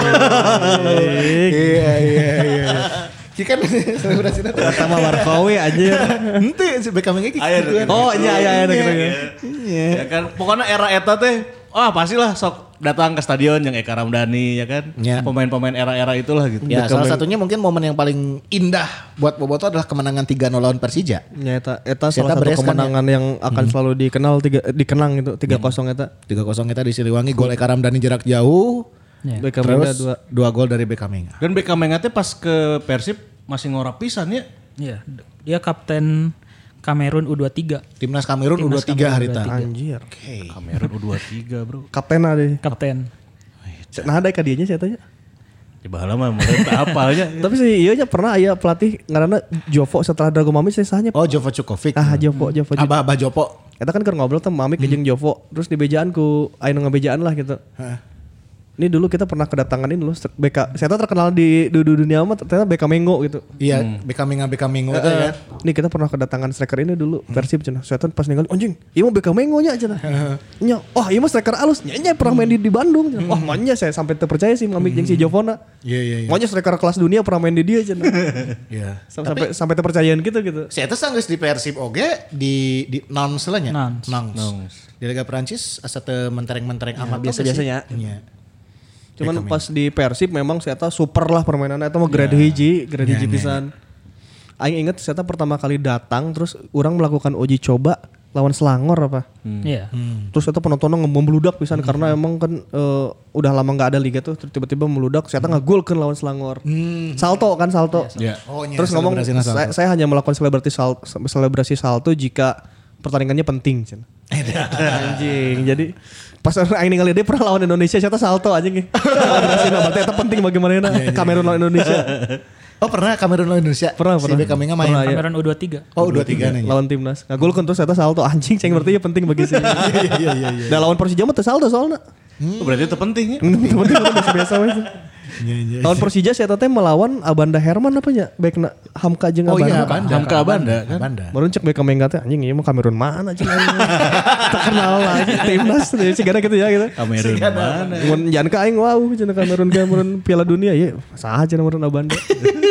Iya iya iya. Ki kan selebrasinya tuh. Sama Warkowi anjir. Henteu si Beckham ge Air. gitu. Oh iya iya iya gitu. Iya. Ya kan pokoknya era eta teh wah pastilah sok datang ke stadion yang Eka Ramdhani ya kan. Ya. Pemain-pemain era-era itulah gitu. Ya salah satunya mungkin momen yang paling indah buat Boboto adalah kemenangan tiga nol lawan Persija. Ya eta eta Si eta salah satu beres kan kemenangan yang akan selalu dikenal tiga dikenang gitu tiga kosong eta. tiga kosong kita di Siliwangi, gol Eka Ramdhani jarak jauh. Ya. Beckham Terus dua. dua gol dari Beckham. Dan Bekamenga teh pas ke Persib masih ngora pisan ya. Iya, dia kapten Kamerun U dua puluh tiga. Timnas Kamerun U dua puluh tiga hari tadi. Anjir. Oke. Kamerun U dua puluh tiga bro. Kaptena deh. Kapten. Nah ada ka dieu nya saya tanya. Di bahala mah mulai apalnya. Tapi sih iya nya pernah aya pelatih ngaranna Jovo setelah Drago Mami saya sahnya. Oh Jovo Cukovic. Ah Jovo Jovo. Abah Abah Jopo. Eta kan keur ngobrol teh Mami jeung Jovo terus di bejaan ku aya nu ngabejaan lah gitu. Ini dulu kita pernah kedatangan ini loh B K. Saya tahu terkenal di, di, di dunia mah ternyata B K Mengo gitu. Iya, Beckham Menga Beckham Mengo ya. Ini kita pernah kedatangan striker ini dulu Persib cenah. Saya tahu pas ninggal anjing, ieu mah B K Mengo nya cenah. Nya, oh ieu mah striker alus. Nya nya pernah main di, di Bandung cenah. Wah, manya saya sampai terpercaya sih Mami jeung si Jovona. Iya iya iya. Manya striker kelas dunia pernah main di dia cenah. Iya. Sampai sampai terpercayaan gitu gitu. Si eta sanggeus di Persib oge di di Nons lah nya. Nons. Nons. Di Liga Prancis asa teu mentereng-mentereng amat biasa-biasanya. Iya. Cuman pas di Persib memang saya tahu super lah permainannya itu mah grade hiji, grade hiji pisan. Aing inget saya pertama kali datang terus orang melakukan uji coba lawan Selangor apa. Iya. Terus itu penontonnya membludak pisan karena emang kan eh, udah lama nggak ada liga tuh terus tiba-tiba meludak. Saya nggak gol kan lawan Selangor. Salto kan salto. Iya. Oh, iya, Terus ngomong selebrasinya salto. saya, saya hanya melakukan selebrasi salto, selebrasi salto jika pertandingannya penting. Cen. Anjing. Jadi pas aing ningali dia pernah lawan Indonesia saya salto anjing. Selebrasi berarti itu penting bagi mana Kamerun lawan Indonesia. Oh pernah Kamerun lawan Indonesia? Pernah, Si pernah. Beckham Menga main. Pernah, ya. Kamerun U dua puluh tiga. Oh U dua puluh tiga nih. Lawan timnas. Ngagol kan terus saya salto anjing ceng berarti ya penting bagi sih. Iya iya iya. Dan lawan Persija mah teu salto soalnya. Oh, berarti itu penting ya. Penting biasa-biasa we. Lawan Persija saya teh melawan Abanda Herman apa nya? Baikna Hamka jeung Oh Abanda. iya Abanda. Hamka Abanda kan. Abanda. Baru cek Beckham Menga teh anjing ieu mah Kamerun mana cing anjing. Terkenal lagi timnas teh sigana gitu ya gitu. Kamerun mana? Mun jangan ka aing wow cenah Kamerun Kamerun Piala Dunia ya saha cenah Kamerun Abanda.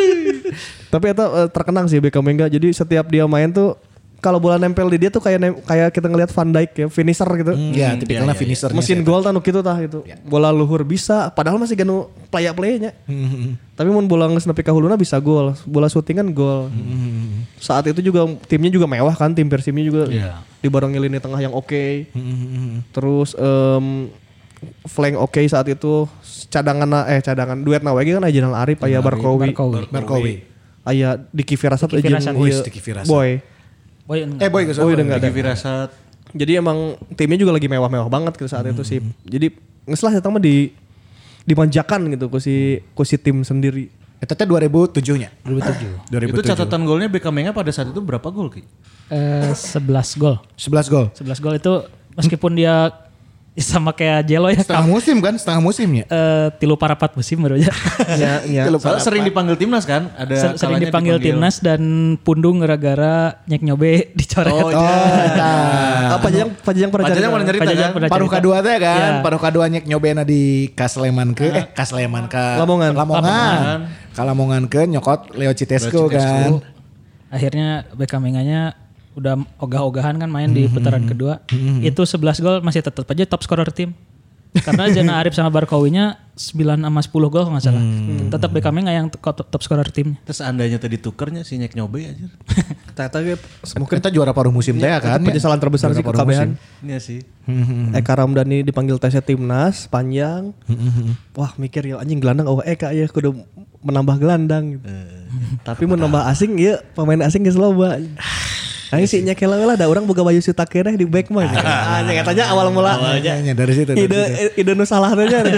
Tapi eta uh, terkenang sih Beckham Menga. Jadi setiap dia main tuh kalau bola nempel di dia tuh kayak nem- kayak kita ngelihat Van Dijk ya, finisher gitu. Iya, tipikalnya finisher. Mesin gol tah nu kitu tah gitu. Bola luhur bisa, padahal masih ganu playa-playanya. Tapi mun bola geus nepi ka huluna bisa gol. Bola syuting kan gol. Saat itu juga timnya juga mewah kan, tim Persibnya juga Iya. dibarengi lini tengah yang oke. Terus em, flank oke saat itu cadangan eh cadangan duet na we kan Ajenal Arif aya Barkowi. Barkowi. Barkowi. Aya Diki Firasat Diki Firasat. jeung Wih, ieu Diki Firasat. Boy. Boy, Eh boy geus. Oh, udah enggak ada. Diki Firasat. Jadi emang timnya juga lagi mewah-mewah banget gitu saat itu sih. Jadi ngeslah ya mah di dimanjakan gitu ku si ku si tim sendiri. Eta teh dua ribu tujuh nya. dua ribu tujuh. dua ribu Itu tujuh. catatan golnya Bekamenga pada saat itu berapa gol Ki? Eh, sebelas gol. sebelas gol. sebelas gol itu meskipun dia sama kayak Jelo ya. Setengah musim kan, setengah musimnya. Eh, tilu parapat musim baru aja. Ya, ya. Soalnya sering dipanggil timnas kan? Ada Ser- sering kalanya dipanggil timnas dan pundung gara-gara nyek nyobe dicoret. Oh, Oh, iya. eta. Apa yang Pajang pernah Pajang cerita? pernah nyerita Pajang kan? pernah Paruh cerita. kadua teh kan, Ya. paruh kadua nyek nyobena di Kasleman ke eh Kasleman ke Lamongan. Lamongan. Ka Lamongan ke nyokot Leo Citesco Leo Citesco. kan. Akhirnya Beckham Menganya udah ogah-ogahan kan main di putaran kedua. Itu sebelas gol masih tetap aja top scorer tim. Karena Jana Arif sama Barkowinya sembilan sama sepuluh gol kalau nggak salah. Hmm. Tetap Bekamnya nggak yang top, top scorer tim. Terus andainya tadi tukernya si Nyek nyobe aja. Ternyata ge mungkin kita juara paruh musim teh kan. Penyesalan terbesar sih kekabehan. Iya sih. Eka Ramdhani dipanggil tesnya timnas panjang. Wah mikir ya anjing gelandang oh Eka ya kudu menambah gelandang gitu. Tapi menambah asing ya pemain asing geus loba. Aing sih nya kela lah ada orang boga baju suta keneh di back mah. Anjing katanya awal mula. Awalnya dari situ. Ide ide nu salah teh nya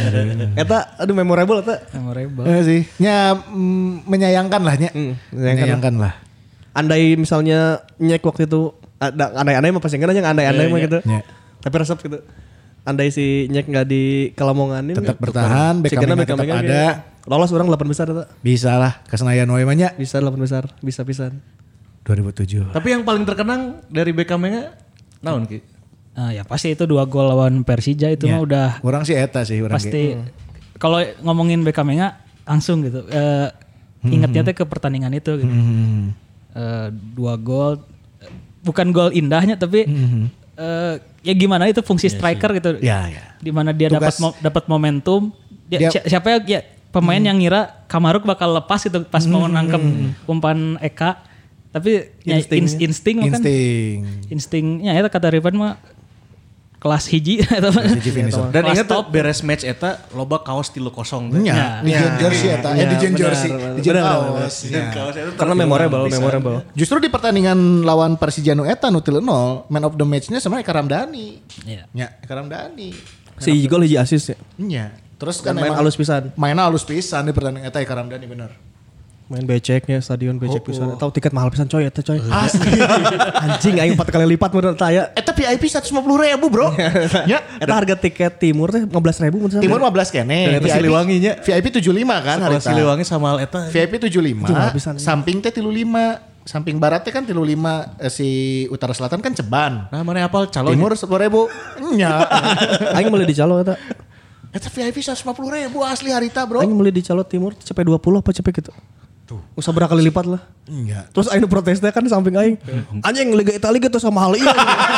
eta aduh memorable eta. Memorable. Eh sih. Nya mm, menyayangkan lah nya. Mm, menyayangkan lah. Andai misalnya Nyek waktu itu ada andai-andai mah pasti enggak nya andai-andai mah gitu. Tapi resep gitu. Andai si Nyek enggak di Kelamonganin tetap bertahan, Beckham tetap ada. Lolos orang delapan besar eta. Bisa lah ke Senayan wae mah nya. Bisa delapan besar, bisa pisan. dua ribu tujuh. Tapi yang paling terkenang dari Bekamnya naon Ki? Nah, ya pasti itu dua gol lawan Persija itu ya. mah udah orang sih eta sih orang pasti hmm. Kalau ngomongin Bekamnya langsung gitu uh, hmm. ingetnya teh ke pertandingan itu gitu. Hmm. Uh, dua gol bukan gol indahnya tapi hmm. uh, ya gimana itu fungsi striker ya, gitu. Ya, ya. Di mana dia dapat mo- dapat momentum dia, dia, siapa ya, ya pemain hmm. yang ngira Kamaruk bakal lepas gitu pas hmm. mau nangkep umpan Eka. Tapi insting, ya, insting mah kan instingnya eta kata Rifan mah kelas hiji eta mah. Dan ingat tuh beres match eta loba kaos tilu kosong teh. Nya, di jersey eta, eh di jersey, di kaos. Karena memorable, memorable. Justru di pertandingan lawan Persija nu eta nu tilu nol, man of the match-nya sebenarnya Eka Ramdhani. Iya. Nya, Eka Ramdhani. Si gol hiji assist ya. Nya. Terus kan main halus pisan. Mainnya halus pisan di pertandingan eta Eka Ramdhani bener. Main beceknya stadion becek oh, pisan. oh. Tahu tiket mahal pisan coy eta coy. Asli. Anjing aing empat kali lipat menurut saya. Eta V I P seratus lima puluh ribu bro. Ya. Eta harga tiket timur teh lima belas ribu menurut saya. Timur lima belas kene. Dan Siliwangi nya. V I P tujuh puluh lima kan harga. Siliwangi sama eta. V I P tujuh puluh lima. Samping teh tilu lima. Samping barat teh kan tilu lima. Eh, si utara selatan kan Ceban. Nah mana apal calon. Timur sepuluh ribu. Nya. Aing meuli di calo eta. Eta V I P seratus lima puluh ribu asli harita bro. Aing meuli di calo timur cepet dua puluh apa cepet gitu. Tuh. Usah berkali lipat lah. Enggak. Terus aing protesnya kan samping aing. Anjing Liga Italia gitu sama hal ini.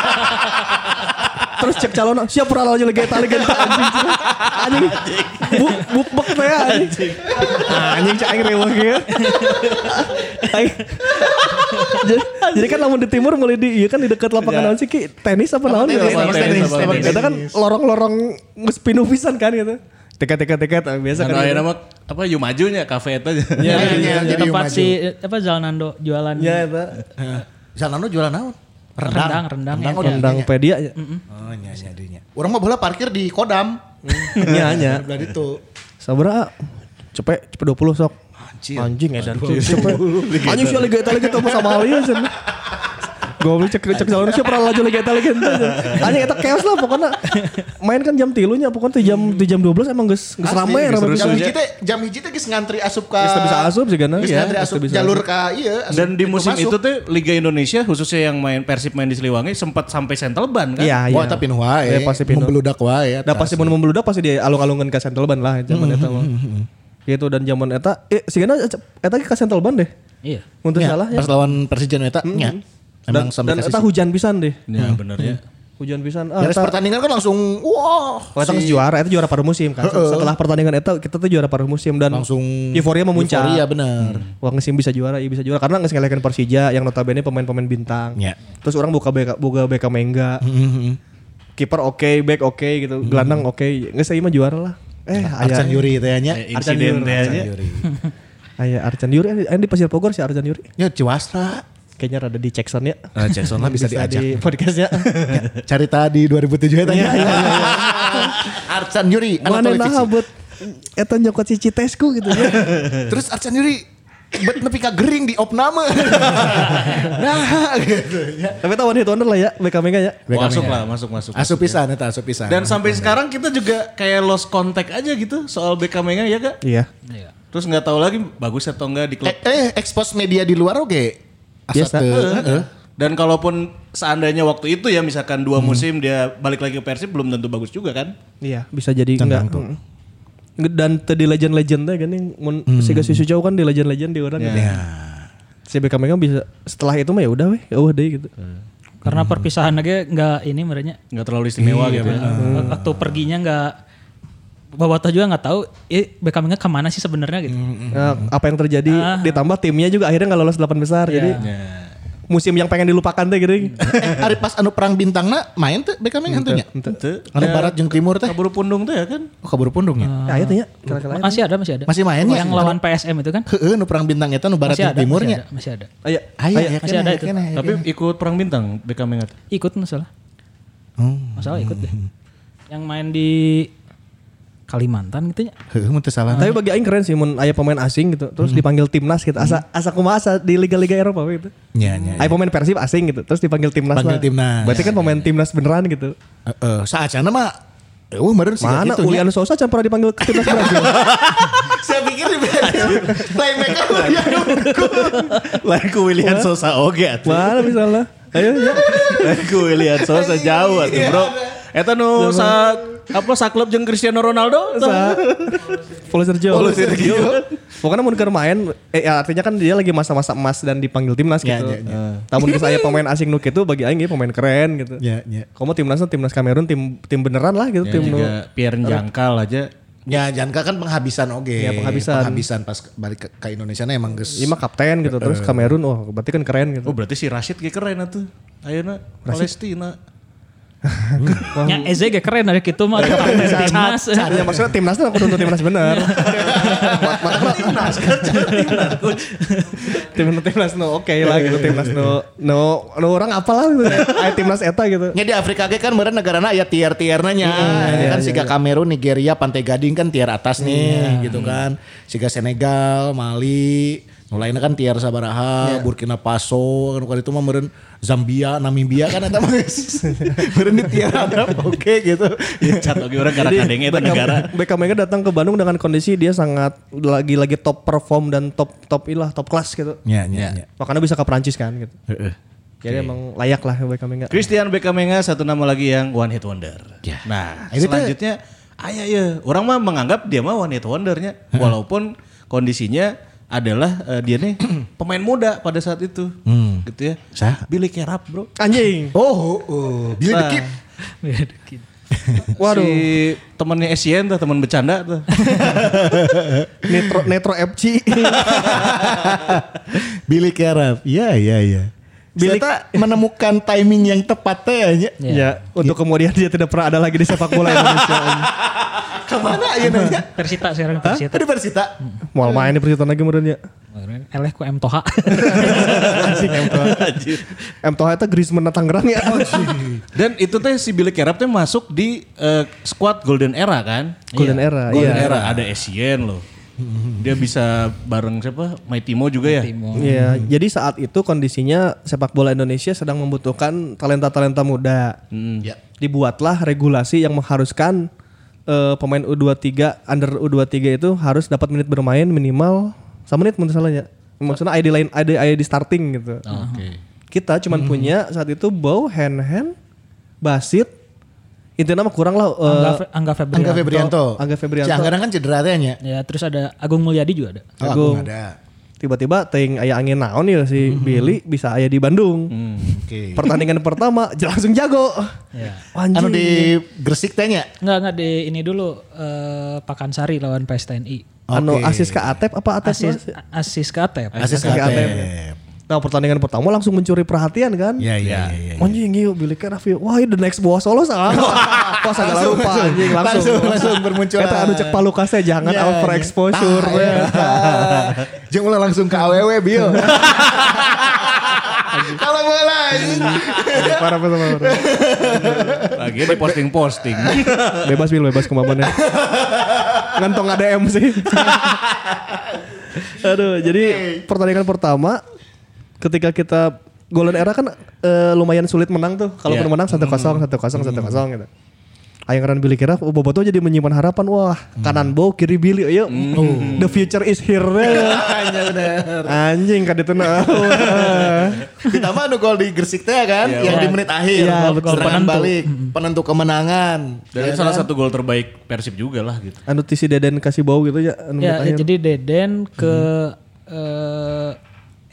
Terus cek calon siap pernah aja Liga Italia gitu anjing. Anjing. Buk buk teh anjing. Anjing cek aing reweh ge. Jadi kan lamun di timur mulai di iya kan di dekat lapangan naon sih Ki tenis apa naon ya? Tenis. Kita kan lorong-lorong geus pinuh pisan kan gitu. Tiket-tiket-tiket biasa kan. Nah, nama apa yu majunya kafe eta. Ya, ya, ya, tempat si apa Zalnando jualan. Ya eta. Zalnando jualan naon? Rendang, rendang, rendang, rendang, rendang pedia ya. Oh nya nya dinya. Urang mah bola parkir di Kodam. Nya nya. Belah itu. Sabaraha? Cepet cepet dua puluh sok. Anjing. Anjing edan cepet. Anjing sih Liga Italia gitu sama hal ieu cenah. Goblok cek cek jalan siapa pernah laju Liga Italia gitu. Anjing eta chaos lah pokoknya. Main kan jam tilu nya pokoknya jam di jam dua belas emang geus geus rame rame jam hiji teh jam hiji teh geus ngantri asup ka. Geus bisa asup sih kan. Geus ngantri asup jalur ka ieu. Dan di musim itu tuh Liga Indonesia khususnya yang main Persib main di Siliwangi sempat sampai Central Ban kan. Iya iya. Wah tapi nu wae. Membeludak wae. Da pasti mun membeludak pasti di alung-alungan ka Central Ban lah zaman eta mah. Gitu dan zaman eta eh sigana eta ka Central Ban deh. Iya. Untuk salah ya. Pas lawan Persija eta nya. Emang dan, dan eta hujan pisan deh. Ya hmm. bener ya. Hujan pisan. Ah, beres pertandingan kan langsung wah. Wow, eta si... juara, eta juara paruh musim kan. Setelah pertandingan eta kita tuh juara paruh musim dan langsung euforia memuncak. Euforia bener. Hmm. Wah ngesim bisa juara, iya bisa juara karena nges ngelekeun Persija yang notabene pemain-pemain bintang. Ya. Terus orang buka beka, buka beka Mengga. Mm-hmm. Kiper oke, okay, back oke okay, gitu. Mm-hmm. Gelandang oke. Okay. Nges ieu mah juara lah. Eh, Arcan Yuri teh nya. Arcan Yuri. Aya Arcan Yuri, aya di Pasir Bogor si Arcan Yuri. Ya Ciwastra. Kayaknya rada di Jackson ya. Uh, Jackson lah bisa, bisa diajak. Di podcastnya. Ya, cari tadi dua ribu tujuh eta. Iya, iya, iya. Arcan Yuri. Mana nah buat eta nyokot si Citesku gitu ya. Terus Arcan Yuri bet nepi ka gering di opname. Nah gitu ya. Tapi tahu hit wonder lah ya B K Mega ya. Masuk lah, masuk masuk. Asup pisan eta, asup pisan. Dan sampai sekarang kita juga kayak lost contact aja gitu soal B K Mega ya Kak? Iya. Terus enggak tahu lagi bagus atau enggak di klub. Eh, eh expose media di luar oke. Biasa. Uh, uh. Dan kalaupun seandainya waktu itu ya misalkan dua hmm. musim dia balik lagi ke Persib belum tentu bagus juga kan? Iya, bisa jadi enggak. Mm. Dan tadi legend-legendnya kan yang mun hmm. Siga Susu jauh kan di legend-legend di orang ya. gitu. Ya. Si Beckham Beckham bisa setelah itu mah ya udah weh, ya udah deh gitu. Karena perpisahan aja nggak ini merenya. Nggak terlalu istimewa gitu ya. Waktu perginya nggak Bobotoh juga nggak tahu eh Beckham Beckham kemana sih sebenarnya gitu. Nah, apa yang terjadi Ah. ditambah timnya juga akhirnya nggak lolos delapan besar Iya. jadi musim yang pengen dilupakan teh gitu. Eh, hari pas anu perang bintangna main tuh Beckham yang hantunya. Itu. Anu barat jeung timur teh. Kabur pundung tuh ya kan. Oh, kabur pundung ya. Ya itu ya kira-kira. Masih ada masih ada. Masih main ya? Yang lawan P S M itu kan? Heeh, nu perang bintang eta nu barat Masih jeung ada, timurnya. masih ada, masih ada. Ayo, Aya, aya masih ada itu. Tapi ikut perang bintang Beckham ingat. Ikut masalah. Masalah ikut deh. Yang main di Kalimantan gitu ya. Heeh, mun teu salah. Tapi bagi aing keren sih mun aya pemain asing gitu terus dipanggil timnas gitu. Asa asa kumaha asa di liga-liga Eropa gitu. Nya nya. Aya pemain Persib asing gitu terus dipanggil timnas. Panggil lah. timnas. Berarti kan pemain timnas beneran gitu. Heeh, saacana mah eueuh meureun sih Mana gitu. Julian Sosa can pernah dipanggil ke timnas Brazil. Saya pikir di playmaker Julian Lain ku William Sosa oge atuh. Mana misalnya? Ayo ya. Lain ku William Sosa jauh atuh, Bro. Eta nu sa apa saklub jeung Cristiano Ronaldo tuh. Sa Paulo Sergio. Paulo Sergio. Pokoknya mun keur main eh ya, artinya kan dia lagi masa-masa emas dan dipanggil timnas Ya, gitu. ya, ya. Namun geus aya pemain asing nu kitu bagi aing ieu pemain keren gitu. Ya, ya. Kamu timnasnya timnas Kamerun tim tim beneran lah gitu Ya, tim nu. juga Pierre Jangkal aja. Ya Janka kan penghabisan oge. Ya, penghabisan. Penghabisan pas balik ke, ke Indonesia na emang geus. Lima kapten gitu terus Kamerun oh berarti kan keren gitu. Oh berarti si Rashid ge keren atuh. Ayeuna Palestina. Yang Eze ge keren dari kitu mah kapten timnas. Ya maksudnya timnasnya aku untuk timnas bener. Timnas kan timnas coach. Timnas timnas no oke lah gitu timnas no no no orang apalah gitu. Aya timnas eta gitu. Nya di Afrika ge kan meureun negarana aya tier-tierna nya. Ya kan siga Kamerun, Nigeria, Pantai Gading kan tier atas nih gitu kan. Siga Senegal, Mali, nu lainna kan tier sabaraha, Burkina Faso, kan itu mah meureun Zambia, Namibia kan eta mah geus. Meureun di tier ada oke gitu. Cat oge urang gara kadenge eta negara. Beckham Beckham datang ke Bandung dengan kondisi dia sangat lagi-lagi top perform dan top top ilah top kelas gitu. Nya nya nya. Makanya bisa ke Prancis kan gitu. Heeh. Jadi emang layak lah Beckham Beckham. Christian Beckhamenga satu nama lagi yang one hit wonder. Ya. Nah, Ini teh- selanjutnya aya ya. Orang mah menganggap dia mah one hit wondernya walaupun kondisinya adalah eh, dia nih pemain muda pada saat itu. Gitu ya. Sah? Billy Carap, Bro. Anjing. Oh, oh, Billy the Nah, Kid. Waduh. Si temannya Essien tuh, teman bercanda tuh. Netro Netro F C. Billy Carap. Iya, iya, iya. Billy Billy- menemukan timing yang tepat teh ya. Ya, untuk kemudian dia tidak pernah ada lagi di sepak bola Indonesia. Kemana ya nanya? Persita sekarang Persita. Ada Persita. Mau main di Persita lagi kemudian ya. Eleh ku M Toha. Anjing M Toha. M Toha itu Griezmann Tangerang ya. Dan itu teh si Billy Carap teh masuk di eh, squad Golden Era kan? Golden Era, Golden iya. Era ada Essien loh. Dia bisa bareng siapa? Maitimo juga ya? Iya, jadi saat itu kondisinya sepak bola Indonesia sedang membutuhkan talenta-talenta muda. Hmm. Ya. Dibuatlah regulasi yang mengharuskan eh, pemain U dua puluh tiga, under U dua puluh tiga itu harus dapat menit bermain minimal sama menit menurut salahnya. Maksudnya I D lain, I D, I D starting gitu. Oke. Kita cuman punya saat itu Bow, Hand Hand, Basit. Intinya mah kurang lah. eh, Angga, Fe- Angga Febrianto. Angga Febrianto. Angga Febrianto. Si Angga kan cedera teh nya. Ya terus ada Agung Mulyadi juga ada. Oh, Agung. Agung ada. Tiba-tiba ting aya angin naon ya si Billy bisa aya di Bandung. Oke. Pertandingan pertama j- langsung jago. Ya. Anjing. Anu di Gresik teh nya. Enggak enggak di ini dulu eh, Pakansari lawan P S T N I. Anu Oke. asis ke Atep apa Atep? Asis Mas? asis ke Atep. Asis Asis Katep. Katep. Nah pertandingan pertama langsung mencuri perhatian kan. Iya iya iya. Anjing yuk Billy Caraf yuk. Wah the next Boa Solo sama. Wah segala rupa anjing langsung. Langsung langsung bermunculan. Eta anu cek palukasnya jangan Ya, overexposure. tah, ya. Jeung ulah langsung ke awewe Bill. Kalau bola anjing. Parah parah parah. Lagi di posting-posting. Bebas Bill bebas kemampuannya. Ngantong A D M sih. Aduh, jadi pertandingan pertama ketika kita Golden Era kan eh, lumayan sulit menang tuh. Kalau Iya. yeah. menang satu kosong, satu kosong, satu kosong gitu. Ayangan Billy Caraf, oh, Boboto jadi menyimpan harapan. Wah, kanan Bow, kiri Billy. Ayo, oh, the future is here. Hanya bener. Anjing kan itu nah. Ditambah anu gol di Gresik teh kan Iya, yang iya. di menit akhir. Iya, Gol betul. serangan Penentu. balik, penentu kemenangan. Dan Ya itu salah kan? satu gol terbaik Persib juga lah gitu. Anu tisi Deden kasih Bow gitu ya. Anu Ya, menit akhir. jadi Deden ke eh,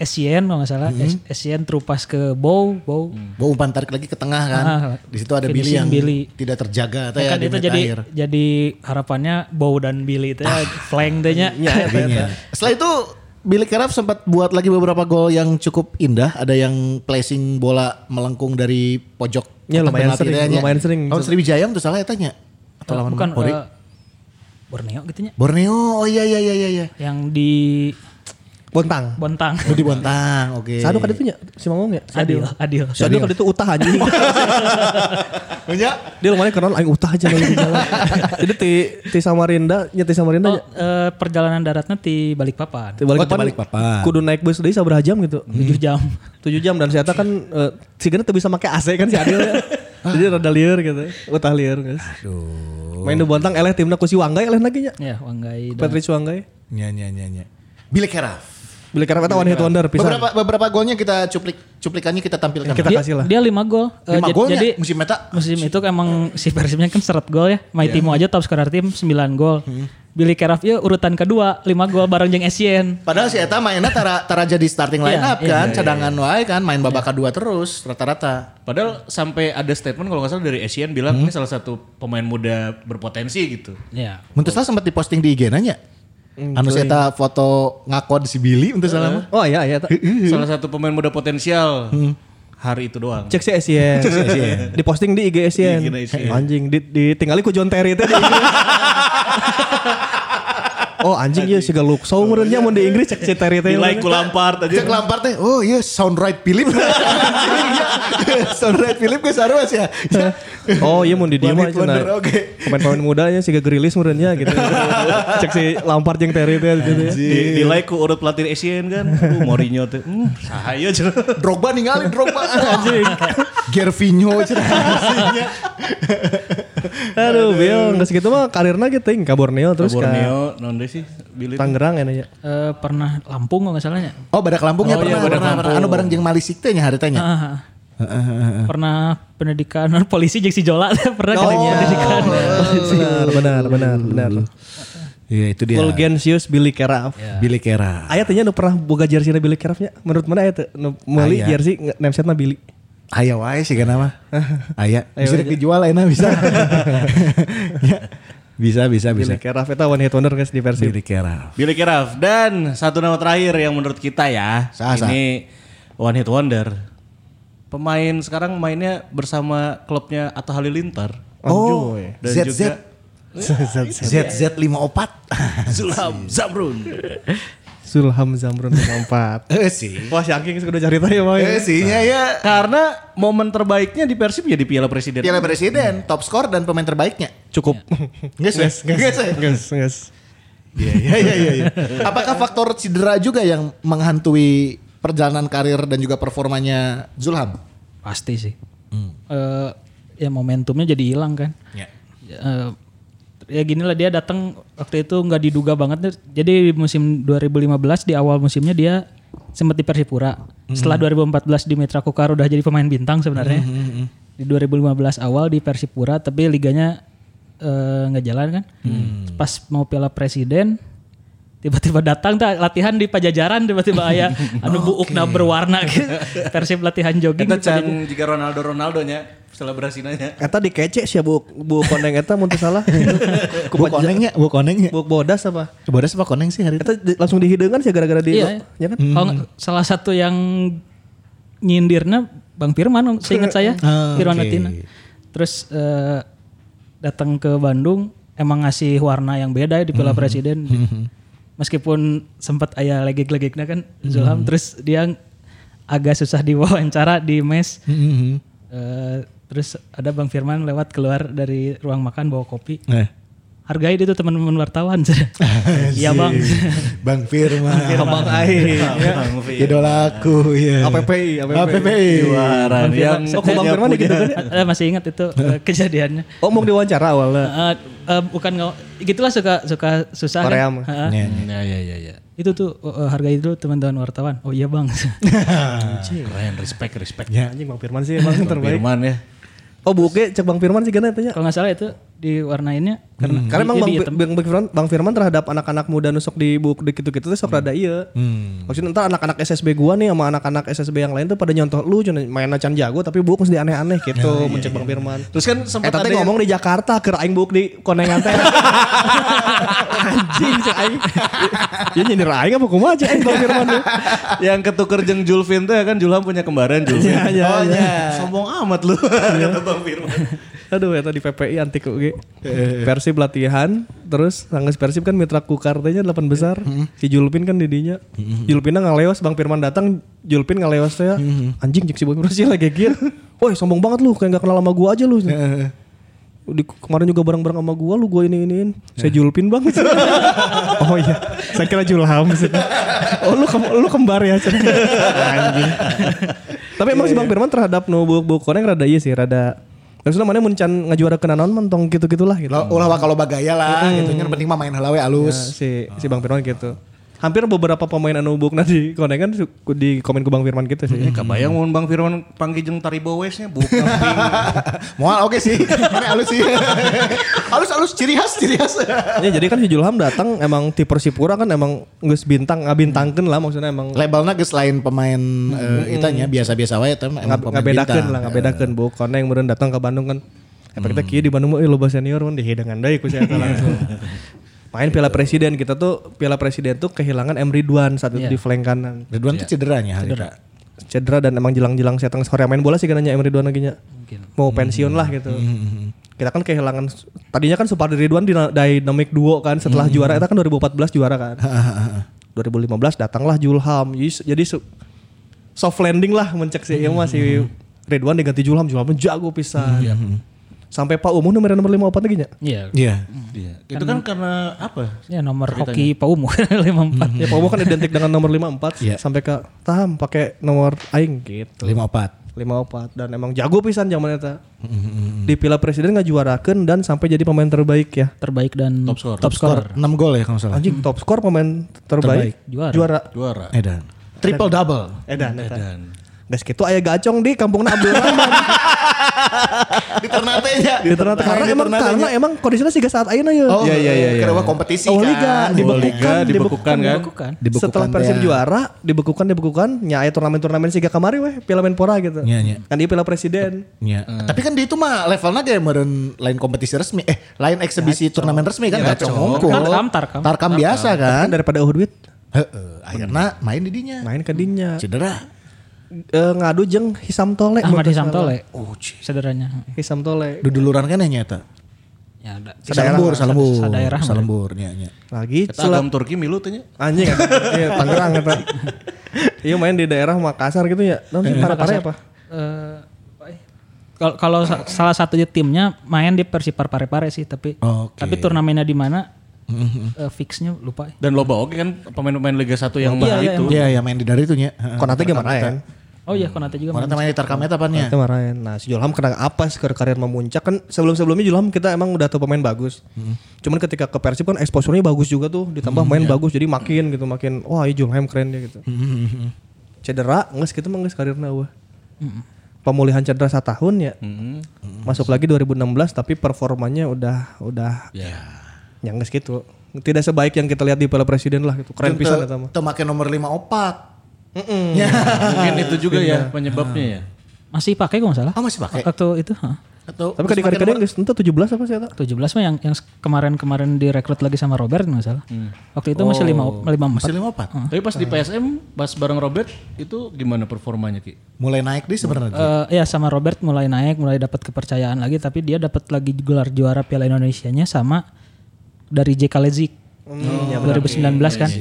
Essien kalau nggak salah, mm-hmm. Essien terupas ke Bow, Bow. Hmm. Bow umpan tarik lagi ke tengah kan. Ah, di situ ada Billy yang Billy. tidak terjaga ya, ya, kan di itu jadi akhir. jadi harapannya Bow dan Billy itu ya ah. flank deh-nya. Setelah itu Billy Keraf sempat buat lagi beberapa gol yang cukup indah, ada yang placing bola melengkung dari pojok. Ya lumayan sering, tanya. lumayan sering. Lawan Sriwijaya tuh salah ya tanya. Atau lawan bukan Pori? Uh, Borneo gitu nya. Borneo, oh iya iya iya iya. Yang di Bontang. Bontang. Oh di Bontang, oke. Okay. Sadu kan itu nya, si ngomong ya? Adil, Adil. Sadu kan itu utah anjing. Punya? Dia lumayan kenal aing utah aja lagi di jalan. Jadi ti ti Samarinda, nya ti Samarinda. Oh, uh, perjalanan daratnya ti Balikpapan. Ti Balikpapan. Oh, Balikpapan. Kudu naik bus deui sabaraha jam gitu? tujuh jam. tujuh jam dan saya kan uh, sigana teu bisa make A C kan si Adil ya. Jadi rada lieur gitu. Utah lieur guys. Aduh. Main di Bontang eleh timna ku si Wanggai eleh lagi nya. Ya, Wanggai. Patrice Wanggai. Nya nya nya nya. Billy Keraf. Billy Keraf itu one hit wonder pisan. Beberapa beberapa golnya kita cuplik cuplikannya kita tampilkan. Kita dia, kasih lah. Dia lima gol. lima uh, golnya jadi musim meta. Musim itu emang si Persibnya kan seret gol ya. Maitimo yeah. aja top scorer tim sembilan gol. Hmm. Billy Keraf ya urutan kedua lima gol bareng jeung Essien. Padahal si eta mainnya tara tara jadi starting line up yeah, kan, yeah, cadangan yeah. wae kan, main babak kedua terus rata-rata. Padahal sampai ada statement kalau nggak salah dari Essien bilang hmm. ini salah satu pemain muda berpotensi gitu. Iya. Yeah. Mun teu salah sempat diposting di I G nanya. Hmm, anu saya foto ngakod si Billy untuk salah mah. Oh iya iya. Salah satu pemain muda potensial hmm. hari itu doang. Cek si Essien. Di posting di I G Essien. Anjing di, ditinggali ku John Terry itu di Inggris. Oh anjing ya sih galuk. So umurnya mau di Inggris cek si Terry itu. Di like ku Lampard aja. Cek Lampard teh. Oh iya sound right Philip. Sound right Philip ke sarua sih ya. Oh iya mau di dia mah cenah. Oke. Pemain-pemain mudanya sih gak gerilis murnya gitu. Cek si Lampard yang Terry itu gitu. Di, di like ku urut pelatih Essien kan. Aduh Mourinho tuh. Hmm, sahaya cenah. Drogba ninggalin Drogba anjing. Gervinho cenah. Aduh, Bill geus kitu mah karirna ge teuing ka Borneo terus ka Borneo non deh sih Billy. Tangerang ya. Uh, pernah Lampung kalau enggak salahnya. Oh, badak Lampungnya oh, pernah. Iya, pernah, pernah. Anu bareng jeung Malisik teh nya haritanya. Uh, uh, uh, uh. Pernah pendidikan polisi jeung si Jola pernah oh, katanya pendidikan polisi. Benar, benar, benar, benar. Iya itu dia. Fulgensius Billy Keraf. Yeah. Billy Keraf. Aya teh nya nu pernah boga jersey Billy Kerafnya. Menurut mana aya teh nu meuli jersey namesetna Billy. Aya wae sih kana mah. Aya. Bisa dijual enak bisa. Bisa bisa bisa. Billy Keraf eta one hit wonder guys di Persib. Billy Keraf. Billy Keraf dan satu nama terakhir yang menurut kita ya. Sah, ini sah. one hit wonder. Pemain sekarang mainnya bersama klubnya Atta Halilintar. Oh, dan Z Z. juga Z Z lima puluh empat. Zulham Zamrun. Zulham Zamrun empat. Eh sih. Wah, si Angking sudah cari tahu ya, Bang. Eh sih ya ya. Karena momen terbaiknya di Persib ya di Piala Presiden. Piala Presiden, top skor dan pemain terbaiknya. Cukup. Nges, nges, nges, nges, nges. Iya, iya, iya, iya. Apakah faktor cedera juga yang menghantui perjalanan karir dan juga performanya Zulham? Pasti sih. Hmm. Uh, ya momentumnya jadi hilang kan. Ya. Uh, ya gini lah dia datang waktu itu nggak diduga banget. Jadi di musim dua ribu lima belas di awal musimnya dia sempat di Persipura. Mm-hmm. Setelah dua ribu empat belas di Mitra Kukar udah jadi pemain bintang sebenarnya. Mm-hmm. Di dua ribu lima belas awal di Persipura tapi liganya nggak uh, jalan kan. Mm. Pas mau Piala Presiden tiba-tiba datang tuh latihan di Pajajaran tiba-tiba aya anu buukna berwarna gitu. Persib latihan jogging. Eta can jika Ronaldo Ronaldonya selebrasinya. Eta dikece sih bu bu koneng eta mun teu salah. Bu konengnya, bu konengnya. Bu bodas apa? Bodas apa koneng sih hari itu? Eta di, langsung dihideungan sih gara-gara di iya, ya kan? Hmm. Kalau salah satu yang nyindirna Bang Firman seingat saya, ah, Firman okay. Latina. Terus uh, datang ke Bandung emang ngasih warna yang beda ya di Piala mm-hmm. Presiden. Mm-hmm. Meskipun sempat aya legek-legeknya kan Zulham mm-hmm. terus dia agak susah diwawancara di mes. Mm-hmm. Uh, terus ada Bang Firman lewat keluar dari ruang makan bawa kopi. Eh. Hargai itu teman-teman wartawan. Iya Bang. Bang Firman. Bang Ai. Idolaku ya. A P P I. A P P I. Juara yang. Oh Bang Firman gitu kan? Saya masih ingat itu kejadiannya. Oh mau diwawancara awalnya? Uh, uh, bukan nggak. Gitulah suka suka susah. Korea kan? mah. Ya ya ya ya. Itu tuh uh, hargai itu teman-teman wartawan. Oh iya Bang. Keren, respect respect. Ya. Anjing Bang Firman sih emang terbaik. Firman ya. Oh buke cek Bang Firman sih gana tanya. Kalau nggak salah itu diwarnainnya Karena, di- karena emang di Bang, hitam. Bang, Bang Firman, Bang Firman terhadap anak-anak muda nusuk di buk di gitu-gitu tuh sok rada iya. Maksudnya entar anak-anak S S B gua nih sama anak-anak S S B yang lain tuh pada nyontoh lu cuma main acan jago tapi buk mesti aneh-aneh gitu mencek Bang Firman. Terus kan Eh sempat tadi ada ngomong di Jakarta ke aing buk di konengan teh. Anjing sih aing. Ya nyindir aing apa kumaha aja aing Bang Firman tuh. yang ketuker jeung Julvin tuh ya kan Julham punya kembaran Julvin. Iya, iya, oh iya. iya. Sombong amat lu kata Bang Firman. Aduh ya tadi P P I anti K U G. Persib latihan terus sanggeus Persib kan mitra kukartenya delapan besar. Si Julpin kan didinya. Julpinna ngalewas Bang Firman datang Julpin ngalewas teh. Anjing cek si Bang Firman sih lagi geger. Woi sombong banget lu kayak gak kenal sama gua aja lu. Di, kemarin juga bareng-bareng sama gua lu gua ini-iniin. Saya Julpin Bang. Oh iya, saya kira Julham. Oh lu kem- lu kembar ya. Anjing. Tapi emang si Bang Firman terhadap nu buk-buk koneng rada iya sih, rada maksudnya mana muncan ngajuara ke nanon mentong gitu-gitulah gitu. Ulah kalau bagaya lah gitu. Yang penting mah main halawe Ya, alus. si si Bang Firman gitu. Hampir beberapa pemain anu bukna di konengan di komen ke Bang Firman gitu sih. Eh, kebayang mun Bang Firman panggil jeung Taribo West-nya bukan. Moal oke sih. Ini alus sih. Alus-alus ciri khas, ciri khas. Ya jadi kan si Julham datang emang ti Persipura kan emang geus bintang ngabintangkeun lah maksudnya emang Labelnya geus lain pemain eh, itanya biasa-biasa wae tapi emang pemain ngabedakeun bintang. lah ngabedakeun bu koneng meureun datang ke Bandung kan. Efeknya kieu di Bandung mah loba senior mun dihidangan deui ku saya langsung. Main Piala Presiden kita tuh Piala Presiden tuh kehilangan M Ridwan saat itu Iya. di flank kanan. Ridwan tuh cederanya Cedera. Cedera dan emang jelang-jelang saya tengah sore main bola sih kan nanya M Ridwan lagi nya. Mau pensiun lah gitu. Kita kan kehilangan tadinya kan Supardi Ridwan di Dynamic Duo kan setelah juara itu kan dua ribu empat belas juara kan. dua ribu lima belas datanglah Julham. Jadi, jadi su- soft landing lah mencek sih mm-hmm. masih Ridwan diganti Julham. Julham jago pisan. Sampai Pak Umuh nomor nomor lima puluh empat lagi nya. Iya. Iya. Iya. Itu kan karena apa? Ya nomor hoki Pak Umu lima puluh empat. Ya Pak Umuh kan identik dengan nomor lima puluh empat Iya. sampai ke Taham pakai nomor aing gitu. lima puluh empat. lima puluh empat dan emang jago pisan zaman eta. Di Piala Presiden ngajuarakeun dan sampai jadi pemain terbaik ya. Terbaik dan Top scorer. Top scorer. enam gol ya kalau nggak salah. Anjing top skor pemain terbaik. Juara. Juara. Juara. Edan. Triple double. Edan. Edan. Dan Gas gitu aya gacong di kampungna Abdul Rahman. Di Ternate ya. Di Ternate karena emang karena emang kondisinya siga saat ayeuna ya. Oh Iya, iya, iya, iya. Karena kompetisi Oh, kan. liga, Di dibekukan, Liga dibekukan kan. Bukan. Dibekukan Setelah Persib teh. juara, dibekukan dibekukan, nya aya turnamen-turnamen siga kamari weh, Piala Menpora gitu. Iya, iya. Kan dia Piala Presiden. Ya. Tapi kan di itu mah levelnya kayak meren lain kompetisi resmi, eh lain eksebisi turnamen resmi kan gak ngongkol. Tarkam, tarkam. Tarkam biasa kan. Kan daripada eueuh duit Heeh, akhirnya main di dinya. main ke dinya. Cedera. Eh, ngadu jeung Hisam Tole. Ahmad menurut Hisam saya. Tole. Oh, ci. Sederhana. Hisam Tole. Duduluran kan nyata. Ya ada. Salembur, salembur. Sadaerah. Salembur nya nya. Lagi kita agam Turki milu teh nya. anjing eta. Iya, Tangerang eta. Iya main di daerah Makassar gitu ya. Non sih Parepare apa? Eh, apa ya? Kalau kalau sa- salah satu timnya main di Persipar Parepare sih, tapi Oke. tapi turnamennya di mana? eh, fixnya lupa. Dan loba oke kan pemain-pemain Liga satu yang Iya, bah iya, itu. Iya, ya main di dari itu nya. Konate ge maraen. Oh iya, Konate juga Mana main. main di Tarkam eta pannya. Itu maraen. Nah, si Julham kena apa sih karir memuncak kan sebelum-sebelumnya Julham kita emang udah tahu pemain bagus. Cuman ketika ke Persib kan exposure-nya bagus juga tuh, ditambah main bagus jadi makin gitu makin wah iya Julham keren dia gitu. Cedera geus kitu mah geus karirna eueuh. Pemulihan cedera setahun ya. Masuk lagi dua ribu enam belas tapi performanya udah udah Ya. yang geus gitu. Tidak sebaik yang kita lihat di Piala Presiden lah gitu. Keren pisan eta mah. Teu make nomor lima puluh empat. Mungkin itu juga ya penyebabnya ya. Masih pakai kok enggak salah. Ah, masih pakai? Waktu itu, heeh. Atau Tapi kadang kadang geus ente tujuh belas apa sih eta? tujuh belas mah yang yang kemarin-kemarin direkrut lagi sama Robert enggak salah. Waktu itu masih lima lima empat. masih lima puluh empat. Tapi pas di P S M pas bareng Robert itu gimana performanya Ki? Mulai naik di sebenarnya. Eh, ya sama Robert mulai naik, mulai dapat kepercayaan lagi, tapi dia dapat lagi gelar juara Piala Indonesianya sama dari J K Lezik. dua ribu sembilan belas kan.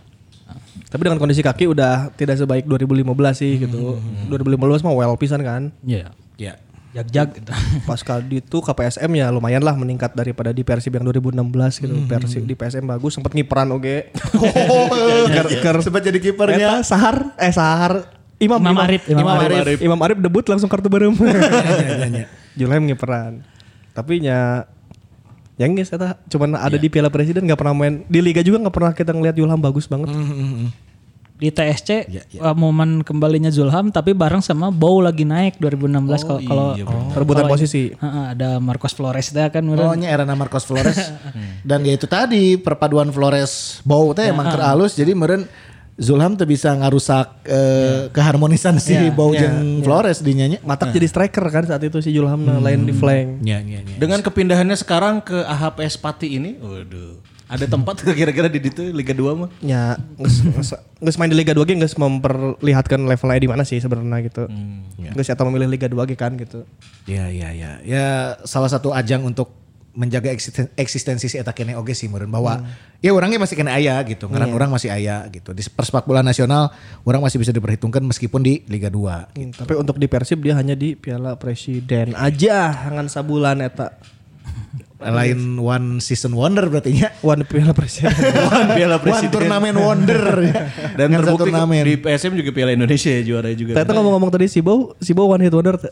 Tapi dengan kondisi kaki udah tidak sebaik dua ribu lima belas sih gitu. dua ribu lima belas mah well pisan kan. Iya. Ya. Jag-jag gitu. Pas kali itu K P S M ya lumayan lah meningkat daripada di Persib yang dua ribu enam belas gitu. Persib di P S M bagus sempat ngiperan oge. Ker sempat jadi Eta kipernya. Sahar eh Sahar Imam Imam Arif, Imam Imam Arif. Arif. Imam Arif debut langsung kartu berem. Julham ngiperan. Tapi nya yang guys eta cuman ada di Piala Presiden enggak pernah main di liga juga enggak pernah kita ngelihat Julham bagus banget. di T S C Ya, ya. uh, momen kembalinya Zulham tapi bareng sama Bow lagi naik dua ribu enam belas kalau kalau Perebutan kalau- posisi. Heeh, ada Marcos Flores teh kan Oh nya era Marcos Flores. Dan ya itu tadi perpaduan Flores Bow teh emang keur alus jadi meureun Zulham tuh bisa ngarusak eh, keharmonisan si Bow jeung Flores di nya. Matak jadi striker kan saat itu si Julham lain di flank. Nya nya nya. Dengan kepindahannya sekarang ke A H P S Pati ini, waduh. Ada tempat kira-kira di itu Liga dua mah? Ya, nggak main di Liga dua ge nggak memperlihatkan levelnya di mana sih sebenarnya gitu. Nggak sih atau memilih Liga dua ge kan gitu. Ya ya ya. Ya salah satu ajang untuk menjaga eksisten- eksistensi si eta kene oge sih meureun bahwa ya orangnya masih kena aya gitu. Ngaran orang masih aya gitu. Di persepak bola nasional orang masih bisa diperhitungkan meskipun di Liga dua. Hmm, tapi untuk di Persib dia hanya di Piala Presiden aja, hangan sabulan eta. Lain one season wonder berarti nya. One Piala Presiden. Piala One turnamen wonder. Dan Dengan satu terbukti turnamen. di P S M juga Piala Indonesia ya, juara juga. Ternyata ngomong-ngomong tadi si Bow, si Bow one hit wonder. teh.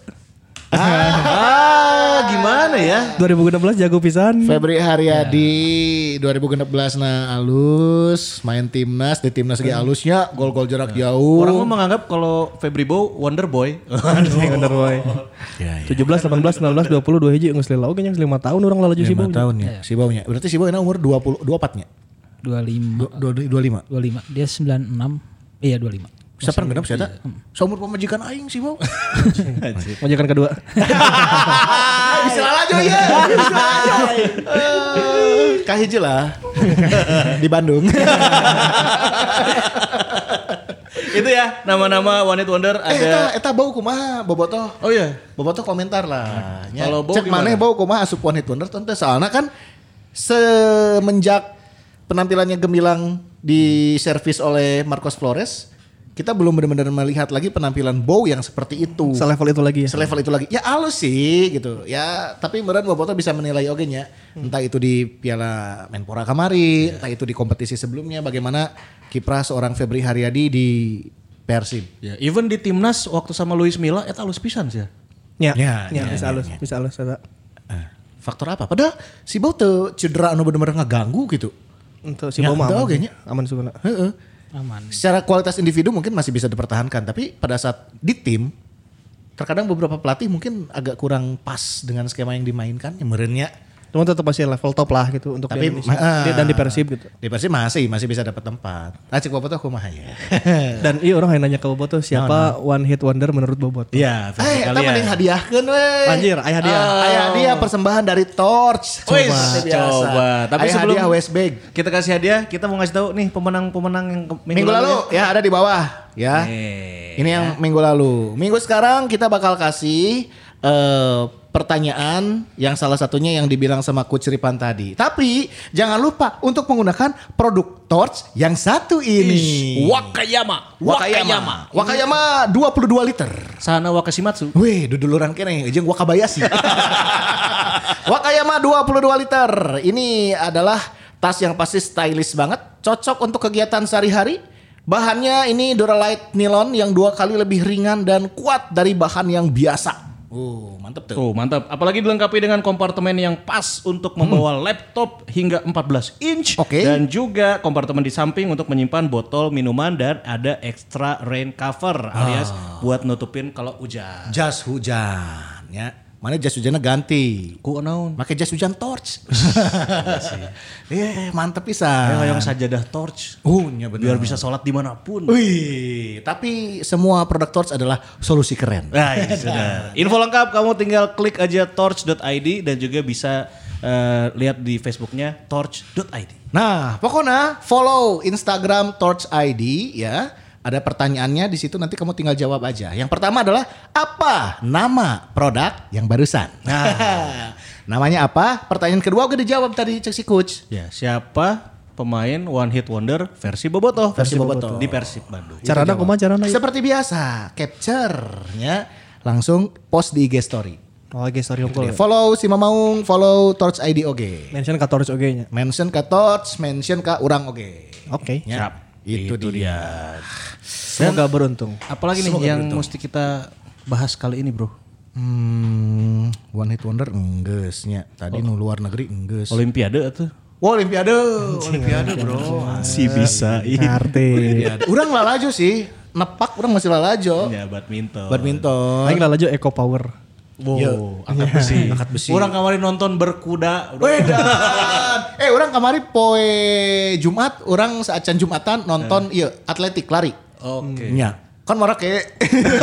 Ah, gimana ya? dua ribu enam belas jago pisan. Febri Haryadi dua ribu enam belas na alus main timnas di timnas ge alusnya gol-gol jarak jauh. Orang mah menganggap kalau Febri Bow Wonder Boy. Aduh, wonder boy. Ya, ya. tujuh belas, delapan belas, sembilan belas, dua puluh, dua hiji geus lila oge nya lima tahun orang lalaju si Bow. lima tahun ya si Baunya. Berarti si Bau ini umur dua puluh dua puluh empat nya. dua puluh lima dua puluh lima. dua puluh lima dia sembilan puluh enam iya dua puluh lima Siapa genep sih eta? Seumur pemajikan aing si Bau. Majikan kedua. Bisa lalajo ya. Bisa lalajo. Kahiji lah. Di Bandung. Itu ya nama-nama One Hit Wonder Eh eta ada. eta Bau kumaha Bobotoh. Oh iya. Bobotoh komentar lah. Nya, Kalau Bau cek gimana? maneh Bau kumaha asup One Hit Wonder tentu soalnya kan semenjak penampilannya gemilang di servis oleh Marcos Flores, kita belum benar-benar melihat lagi penampilan Bow yang seperti itu. Selevel itu lagi ya. Selevel itu lagi. Ya halus sih gitu. Ya tapi meureun Bobotoh bisa menilai oge nya. Entah itu di Piala Menpora kamari, entah itu di kompetisi sebelumnya bagaimana kiprah seorang Febri Haryadi di Persib. Ya, even di timnas waktu sama Luis Milla eta halus pisan sih. Ya, Ya, ya, ya, bisa ya, halus, ya. bisa halus eta. Eh, faktor apa? Padahal si Bow teu cedera anu bener-bener ngeganggu gitu. Untuk si Ya, Bow mah itu aman. oge sih. nya. Aman sebenarnya. Heeh. aman Secara kualitas individu mungkin masih bisa dipertahankan, tapi pada saat di tim terkadang beberapa pelatih mungkin agak kurang pas dengan skema yang dimainkan, ya meureunnya. Cuma tetap masih level top lah gitu untuk Tapi di Indonesia. ah, Dia- dan di Persib gitu. Di Persib masih masih bisa dapat tempat. Ah cek Bobotoh kumaha ya. Dan iya orang yang nanya ke Bobotoh siapa one hit wonder menurut Bobotoh. Iya, Eh, kita mending hadiahkeun we. Anjir, aya hadiah. Aya hadiah persembahan dari Torch. Wih, Seperti biasa. coba. Tapi Aya sebelum hadiah West Bag. kita kasih hadiah, kita mau ngasih tahu nih pemenang-pemenang yang ke- Minggu lalu ya ada di bawah ya. Nih, Ini yang minggu lalu. Minggu sekarang kita bakal kasih eh, pertanyaan yang salah satunya yang dibilang sama Coach Ripan tadi. Tapi jangan lupa untuk menggunakan produk Torch yang satu ini. Wakayama. Wakayama. Wakayama dua puluh dua liter. Sana Wakashimatsu. Wih, duduluran kene jeung Wakabayashi. Wakayama dua puluh dua liter. Ini adalah tas yang pasti stylish banget, cocok untuk kegiatan sehari-hari. Bahannya ini Duralite nilon yang dua kali lebih ringan dan kuat dari bahan yang biasa. Oh, mantep tuh. Tuh mantap. Apalagi dilengkapi dengan kompartemen yang pas untuk membawa laptop hingga empat belas inch. Oke. Dan juga kompartemen di samping untuk menyimpan botol minuman dan ada extra rain cover alias buat nutupin kalau hujan. Jas hujan ya. Mana jas hujannya ganti. Ku naon? Pakai jas hujan Torch. Eh, mantep pisan. Yang sajadah torch. Oh, nya bener. Biar bisa sholat dimanapun. Wih, tapi semua produk Torch adalah solusi keren. Nah, iya, sudah. Info lengkap kamu tinggal klik aja torch dot i d dan juga bisa eh, lihat di Facebooknya torch dot i d. Nah, pokoknya follow Instagram Torch I D ya. Ada pertanyaannya di situ nanti kamu tinggal jawab aja. Yang pertama adalah apa nama produk yang barusan? Nah, namanya apa? Pertanyaan kedua udah dijawab tadi cek si coach. Ya, siapa pemain one hit wonder versi Bobotoh? Versi Bobotoh. Di Persib Bandung. Carana kumaha carana? Seperti biasa, capture-nya langsung post di I G story. Oh, guys, sorry Gitu unggul. deh. Follow si Mamaung, follow Torch I D oge. Mention ka Torch oge nya. Mention ke Torch, mention ke urang oge. Oke. Ya, Itu, dia. Semoga beruntung. Apalagi nih Semoga yang beruntung. mesti kita bahas kali ini, Bro? Hmm, one hit wonder enggeusnya. Tadi nu luar negeri enggeus. Olimpiade tuh. Wah, Olimpiade, Olimpiade bro. Si bisa. Ngerti. Urang lalajo sih, nepak urang masih lalajo. Ya badminton. Badminton. Aing lalajo Eco Power. Wow, Iya. angkat besi. Angkat besi. Orang kemarin nonton berkuda. Wedan. eh, orang kemarin poe Jumat, orang saacan Jumatan nonton iya atletik lari. Oke. Nya. Kan marah kayak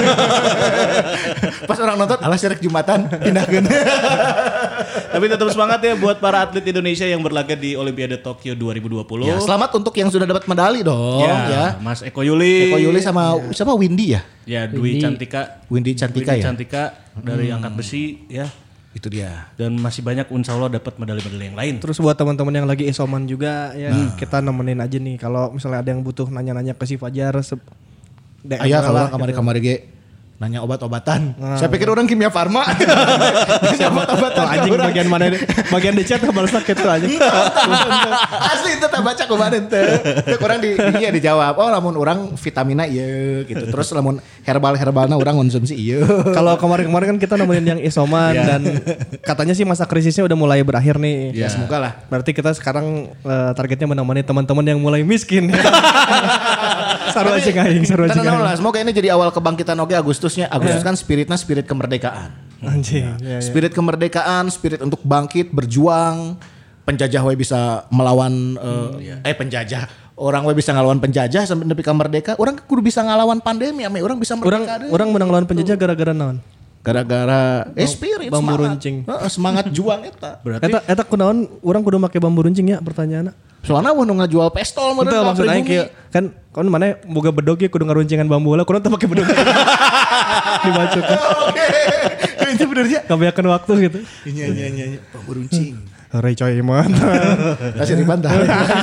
pas orang nonton alah sirek Jumatan pindahkeun. Tapi tetap semangat ya buat para atlet Indonesia yang berlaga di Olimpiade Tokyo dua ribu dua puluh. Ya, selamat untuk yang sudah dapat medali dong Ya, ya. Mas Eko Yuli. Eko Yuli sama sama Windy ya. Ya, Dwi Cantika. Windy Cantika Dwi ya. Cantika dari angkat besi ya. Itu dia. Dan masih banyak insya Allah dapat medali-medali yang lain. Terus buat teman-teman yang lagi isoman juga ya kita nemenin aja nih kalau misalnya ada yang butuh nanya-nanya ke si Fajar se- D M Ayah lah kalau kamari-kamari ge nanya obat-obatan. Nah, Saya pikir orang kimia farma. Nanya obat-obatan. Oh, anjing ke orang. bagian mana bagian di chat balas sakit tuh anjing. Asli itu tak baca kemarin tuh. Itu orang di iya dijawab. Oh lamun orang vitamina iya gitu. Terus lamun herbal-herbalna orang konsumsi iya. Kalau kemarin-kemarin kan kita nemenin yang isoman dan katanya sih masa krisisnya udah mulai berakhir nih. Ya semoga lah. Berarti kita sekarang eh, targetnya menemani teman-teman yang mulai miskin. Saru aja aing, saru aja. Tenang lah, semoga ini jadi awal kebangkitan oke Agustusnya. Agustus kan spiritnya spirit kemerdekaan. Anjing. Ya, ya. Spirit kemerdekaan, spirit untuk bangkit, berjuang. Penjajah we bisa melawan eh, eh penjajah. Orang we bisa ngelawan penjajah sampai nepi ka merdeka. Orang kudu bisa ngelawan pandemi, ame orang bisa Orang merdeka. deh. orang menang lawan penjajah gara-gara naon? Gara-gara eh spirit bambu semangat. runcing. Heeh, semangat juang eta. Berarti Eta eta kunaon orang kudu make bambu runcing ya pertanyaanna. Soalnya wah nu ngajual pistol meureun Itu ka maksud aing pribumi. kieu kan kon mana boga bedog ya kudu ngaruncingan bambu lah kudu teu make bedog. Dibacukeun. Oke. Itu bener ya. Kabeakeun waktu gitu. Iya iya iya iya. Bambu runcing. Hore coy mantap. Kasih dibantah.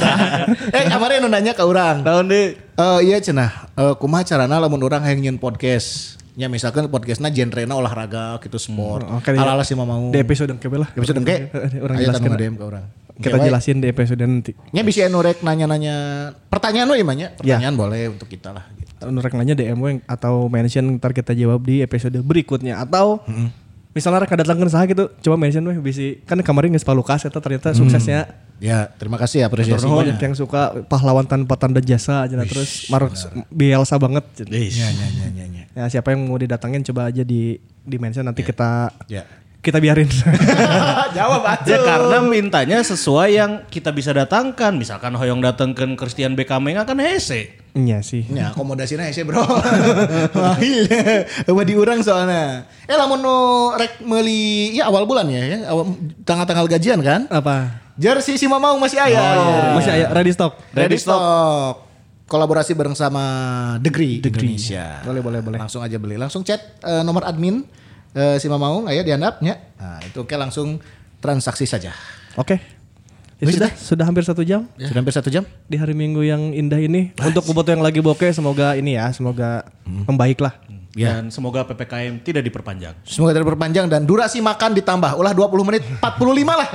Eh kemarin nu nanya ke orang. tahun deh. Eh iya cenah, eh kumaha carana lamun urang hayang nyieun podcast. Ya misalkan podcastna genrena olahraga gitu sport. Hmm, oke, Ala-ala sih mau. Di episode kebe lah. Episode engke. Orang Aya jelaskeun. tanu D M ke urang. Kita jelasin di episode nanti. Nya bisa anu rek nanya-nanya pertanyaan we imanya. Pertanyaan boleh untuk kita lah gitu. Rek nanya D M we atau mention ntar kita jawab di episode berikutnya atau misalnya rek datangkeun saha gitu coba mention we bisi kan kemarin geus Palukas eta ternyata suksesnya. Ya, terima kasih apresiasi Banyak banyak. yang suka pahlawan tanpa tanda jasa aja terus Mark biasa banget. Iya, iya, iya, iya, iya. Ya siapa yang mau didatangin coba aja di di mention nanti kita Ya. kita biarin. Jawab atuh. Ya karena mintanya sesuai yang kita bisa datangkan. Misalkan hoyong datangkan Christian Beckham kan hese. Iya sih. Ya akomodasinya hese bro. Mahil. Eueuh di urang soalnya. Eh lamun nu rek meuli ya awal bulan ya, ya awal, tanggal-tanggal gajian kan? Apa? Jersey si Mamau masih aya. Masih ada ready stock. Ready stock. Kolaborasi bareng sama Degree, Indonesia. Boleh boleh boleh. Langsung aja beli. Langsung chat eh, nomor admin eh, si Mamau, ayo dihandapnya. Nah, itu oke langsung transaksi saja. Oke. Ya Wis sudah, sudah hampir satu jam Sudah hampir satu jam. di hari Minggu yang indah ini. Untuk bobotoh yang lagi bokeh semoga ini ya, semoga membaik lah. Ya. Dan semoga P P K M tidak diperpanjang. Semoga tidak berpanjang dan durasi makan ditambah. Ulah dua puluh menit, empat puluh lima lah.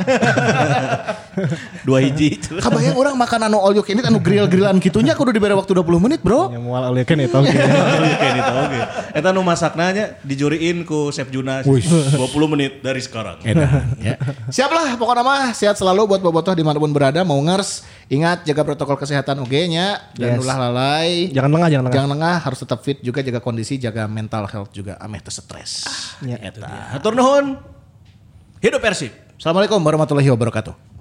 Dua hiji. Kabayang orang makan anu all you can eat, anu grill-grillan gitunya kudu diberi waktu dua puluh menit bro. Yang mual oleh kan itu. Oke. Oke, gitu oke. Eta nu masaknanya dijuriin ku Chef Junas dua puluh menit dari sekarang. Edan, ya. Siap lah pokoknya mah sehat selalu buat bobotoh dimanapun berada mau ngers. Ingat jaga protokol kesehatan oke nya dan Yes. ulah lalai. Jangan lengah, jangan lengah. Jangan lengah, harus tetap fit juga, jaga kondisi, jaga mental health juga, ameh teu stres. Ya. Eta. Hatur nuhun. Hidup Persib. Assalamualaikum warahmatullahi wabarakatuh.